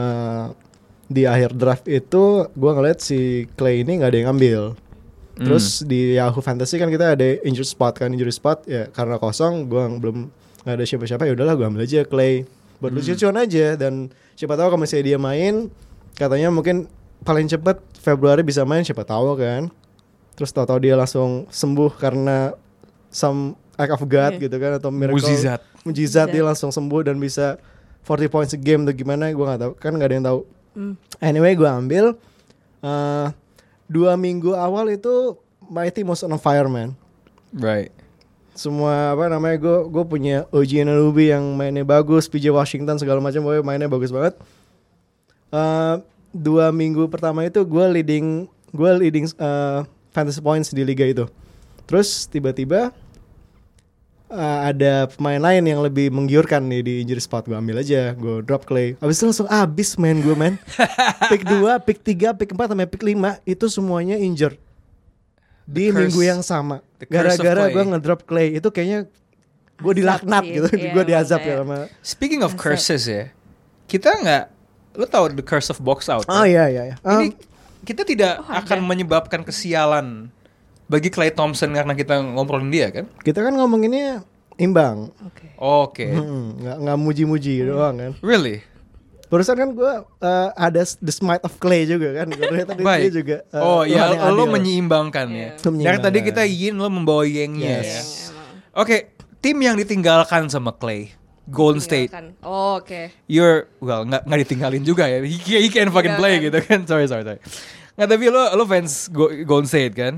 Di akhir draft itu gue ngeliat si Clay ini nggak ada yang ambil. Terus di Yahoo Fantasy kan kita ada injury spot ya, karena kosong gue belum nggak ada siapa-siapa, ya udahlah gue ambil aja Clay buat lucu-lucuan aja, dan siapa tahu kalau misalnya dia main, katanya mungkin paling cepat Februari bisa main, siapa tahu kan. Terus tahu-tahu dia langsung sembuh karena some act of God gitu kan, atau miracle mujizat dia langsung sembuh dan bisa 40 points a game atau gimana, gue nggak tahu kan, nggak ada yang tahu. Anyway gue ambil 2 minggu awal itu my team was on fire man. Right. Semua gue punya OG Anunoby yang mainnya bagus, PJ Washington segala macam, pokoknya mainnya bagus banget. 2 minggu pertama itu gue leading fantasy points di liga itu. Terus tiba-tiba ada pemain lain yang lebih menggiurkan nih di injury spot, gue ambil aja, gue drop Clay. Abis itu langsung abis main gue man. Pick 2, pick 3, pick 4 sampai pick 5 itu semuanya injured di minggu yang sama. Gara-gara gue ngedrop Clay, itu kayaknya gue dilaknat gitu, gue diazab ya sama. Speaking of curses ya, kita nggak, lo tau the curse of box out? Oh iya. Ini kita tidak akan menyebabkan kesialan bagi Klay Thompson karena kita ngobrolin dia kan? Kita kan ngomonginnya imbang. Oke. Nggak muji-muji doang kan. Really? Barusan kan gue ada the smite of Clay juga kan. Dia juga. Lo menyeimbangkan ya. Dari tadi kita yin, lo membawa yengnya ya. Oke, tim yang ditinggalkan sama Clay, Golden State. Oke. You're nggak ditinggalin juga ya. He can fucking play gitu kan. Sorry. Nggak, tapi lo fans Golden State kan?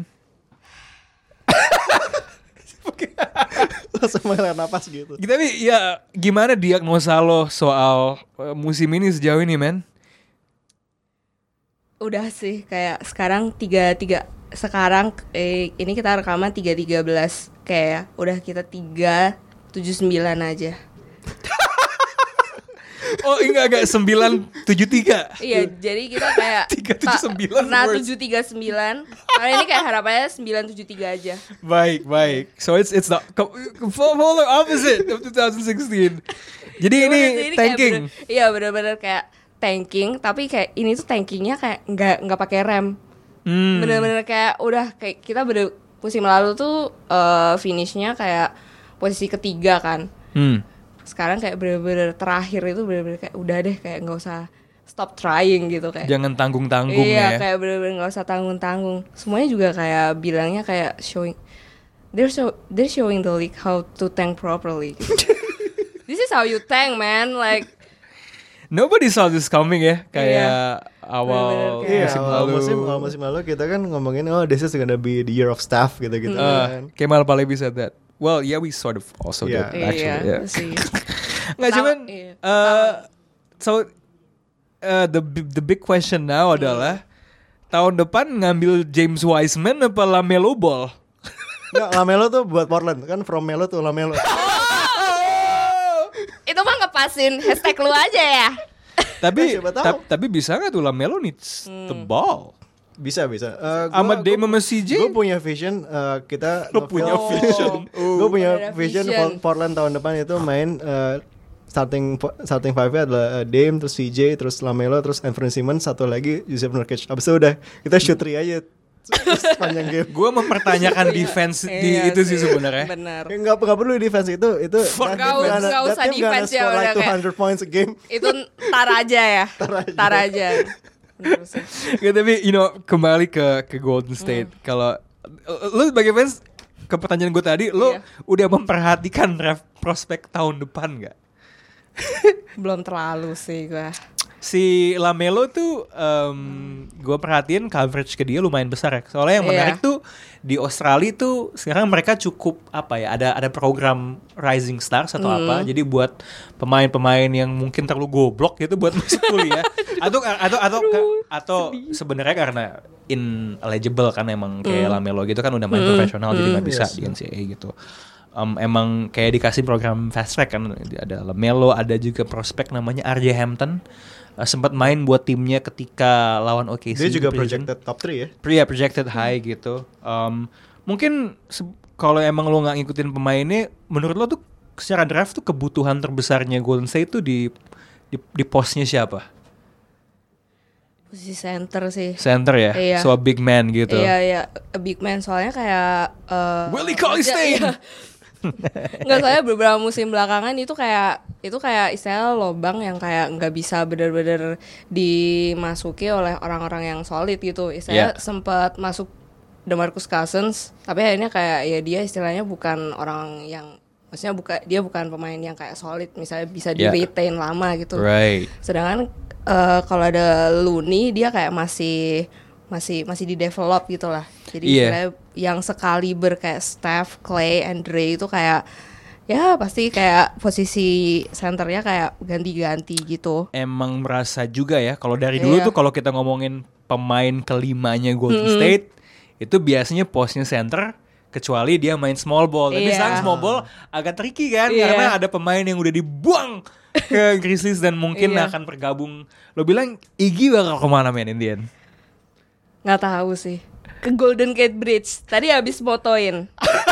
Langsung menghela napas gitu. Tapi ya gimana diagnosa lo soal musim ini sejauh ini men? Udah sih kayak sekarang 3-3. Sekarang ini kita rekaman 3-13. Kayak udah kita 3-7-9 aja. Oh enggak 9-7-3. Iya, jadi kita kayak 3-7-9 pernah worse. 7-3-9. Kali ini kayak harapannya 9-7-3 aja. Baik. So it's the polar opposite of 2016. Jadi ini tanking. Iya benar-benar kayak tanking, tapi kayak ini tuh tankingnya kayak nggak pakai rem. Bener-bener kayak udah kayak kita musim lalu tuh finishnya kayak posisi ketiga kan. Sekarang kayak bener-bener terakhir itu bener-bener kayak udah deh kayak nggak usah stop trying gitu kayak. Jangan tanggung-tanggung Iya, ya. kayak bener-bener nggak usah tanggung-tanggung. Semuanya juga kayak bilangnya kayak they're showing the league how to tank properly. Gitu. This is how you tank, man. Like Nobody saw this coming ya. Kayak awal Bener-bener kayak- Iya, musim awal lalu. musim lalu kita kan ngomongin this is gonna be the year of staff gitu-gitu kan. Kemal Palevi said that. Well, yeah, we sort of also Yeah. did actually. iya Yeah. sih. Nggak Sama- cuman. iya. The big question now adalah tahun depan ngambil James Wiseman apa LaMelo Ball? Nggak, Lamelo tuh buat Portland kan, from Melo tuh Lamelo. Itu mah ngepasin hashtag lu aja ya. Tapi Siapa tahu. tapi bisa nggak tuh LaMelo needs the ball? Bisa. Sama Dame sama CJ? Gue punya vision kita. Lo punya vision. Gue punya Ada vision vision. Portland tahun depan itu main starting five-nya adalah Dame, terus CJ, terus Lamelo, terus Anthony Simmons, satu lagi Jusuf Nurkic. Abis itu udah kita shoot 3 aja sepanjang game. Gue mempertanyakan defense di Iya itu sih sebenarnya. Bener. Ya, nggak perlu defense itu Fuck that team defense. Nggak usah that team gonna defense ya, score like udah kayak- 200 points a game. Itu tar aja ya. Tar aja. Bener sih. Nggak, tapi kembali ke Golden State. Kalau lu sebagai fans, ke pertanyaan gue tadi, lu Iya. udah memperhatikan draft prospek tahun depan nggak? Belum terlalu sih gue. Si LaMelo tuh gue perhatiin coverage ke dia lumayan besar ya. Soalnya yang Iya. menarik tuh di Australia tuh sekarang mereka cukup apa ya, ada program Rising Stars atau apa. Jadi buat pemain-pemain yang mungkin terlalu goblok gitu buat masuk kuliah. atau sebenarnya karena ineligible kan emang kayak LaMelo gitu kan udah main profesional jadi nggak bisa Yes. di NCAA gitu. Emang kayak dikasih program fast track kan, ada LaMelo, ada juga prospek namanya RJ Hampton, sempat main buat timnya ketika lawan OKC. Dia juga di preseason. projected top 3 ya. Projected high gitu. Mungkin kalau emang lo nggak ngikutin pemainnya, menurut lo tuh secara draft tuh kebutuhan terbesarnya Golden State tuh di posnya siapa? Posisi center sih. Center ya, Iya. so a big man gitu. Iya, a big man soalnya kayak Willie Cauley-Stein. iya. Nggak, soalnya beberapa musim belakangan itu kayak istilah lobang yang kayak nggak bisa benar-benar dimasuki oleh orang-orang yang solid gitu. Istilahnya Yeah. sempat masuk DeMarcus Cousins, tapi akhirnya kayak ya dia istilahnya bukan orang yang, maksudnya bukan pemain yang kayak solid, misalnya bisa di Yeah. retain lama gitu. Right. Sedangkan kalau ada Looney dia kayak masih di develop gitu lah. Jadi Iya. istilahnya yang sekaliber kayak Steph, Clay, Andre itu kayak ya pasti kayak posisi senternya kayak ganti-ganti gitu. Emang merasa juga ya kalau dari dulu Iya. tuh kalau kita ngomongin pemain kelimanya Golden State itu biasanya posnya center kecuali dia main small ball. Tapi Iya. sekarang small ball agak tricky kan Iya. karena ada pemain yang udah dibuang ke Grizzlies dan mungkin Iya. akan bergabung. Lo bilang Iggy bakal kemana men Indian? Nggak tahu sih. Ke Golden Gate Bridge. Tadi habis motoin.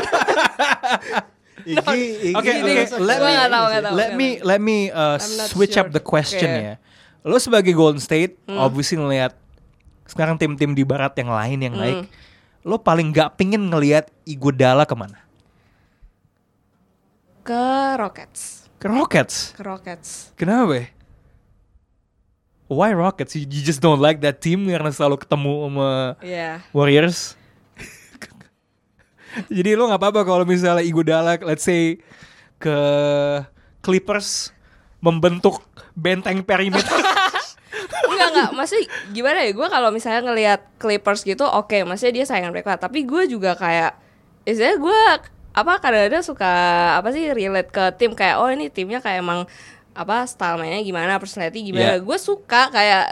Iggy Oke, Gua nggak tahu. Let me I'm not switch sure. up the question Oke. ya. Lo sebagai Golden State, obviously ngelihat sekarang tim-tim di barat yang lain yang naik, lo paling nggak pingin ngelihat Iguodala kemana? Ke Rockets. Ke Rockets. Kenapa? Why Rockets? You just don't like that team karena selalu ketemu sama Iya. Warriors. Jadi lo nggak apa-apa kalau misalnya Iguodala, let's say ke Clippers membentuk benteng perimeter. Enggak, maksudnya gimana ya, gue kalau misalnya ngelihat Clippers gitu, oke, maksudnya dia saingan mereka, tapi gue juga kayak, istilahnya gue kadang-kadang suka relate ke tim kayak, oh ini timnya kayak emang style mainnya gimana, personality gimana. Yeah. Gue suka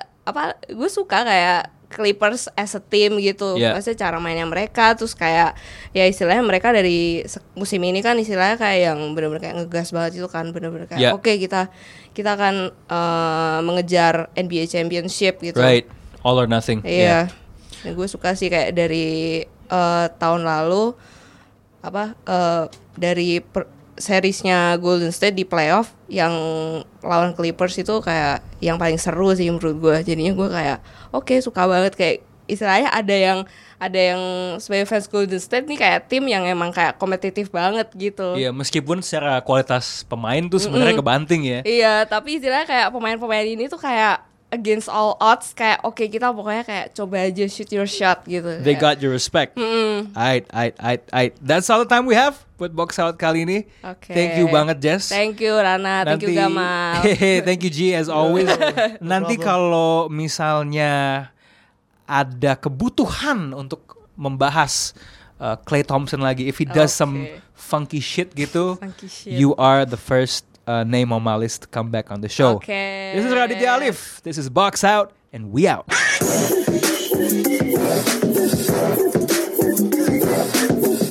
kayak Clippers as a team gitu. Yeah. Maksudnya cara mainnya mereka, terus kayak ya istilahnya mereka dari musim ini kan istilahnya kayak yang benar-benar kayak ngegas banget itu kan, benar-benar kayak Yeah. oke, kita akan mengejar NBA Championship gitu. Right, all or nothing. Iya. Dan gue suka sih kayak dari tahun lalu dari seriesnya Golden State di playoff yang lawan Clippers itu kayak yang paling seru sih menurut gue. Jadinya gue kayak oke, suka banget kayak istilahnya ada yang sebagai fans Golden State nih kayak tim yang emang kayak kompetitif banget gitu. Iya, meskipun secara kualitas pemain tuh sebenarnya kebanting ya. Iya, tapi istilahnya kayak pemain-pemain ini tuh kayak against all odds, kayak oke, kita pokoknya kayak coba aja shoot your shot gitu. They got your respect. Aight. That's all the time we have buat box out kali ini. Oke. Thank you banget, Jess. Thank you Rana, thank you Gamal. Thank you G as always. Nanti kalau misalnya ada kebutuhan untuk membahas Klay Thompson lagi, if he does some funky shit gitu, Funky shit. you are the first name on my list to come back on the show. Okay. This is Raditya Alif. This is Box Out, and we out.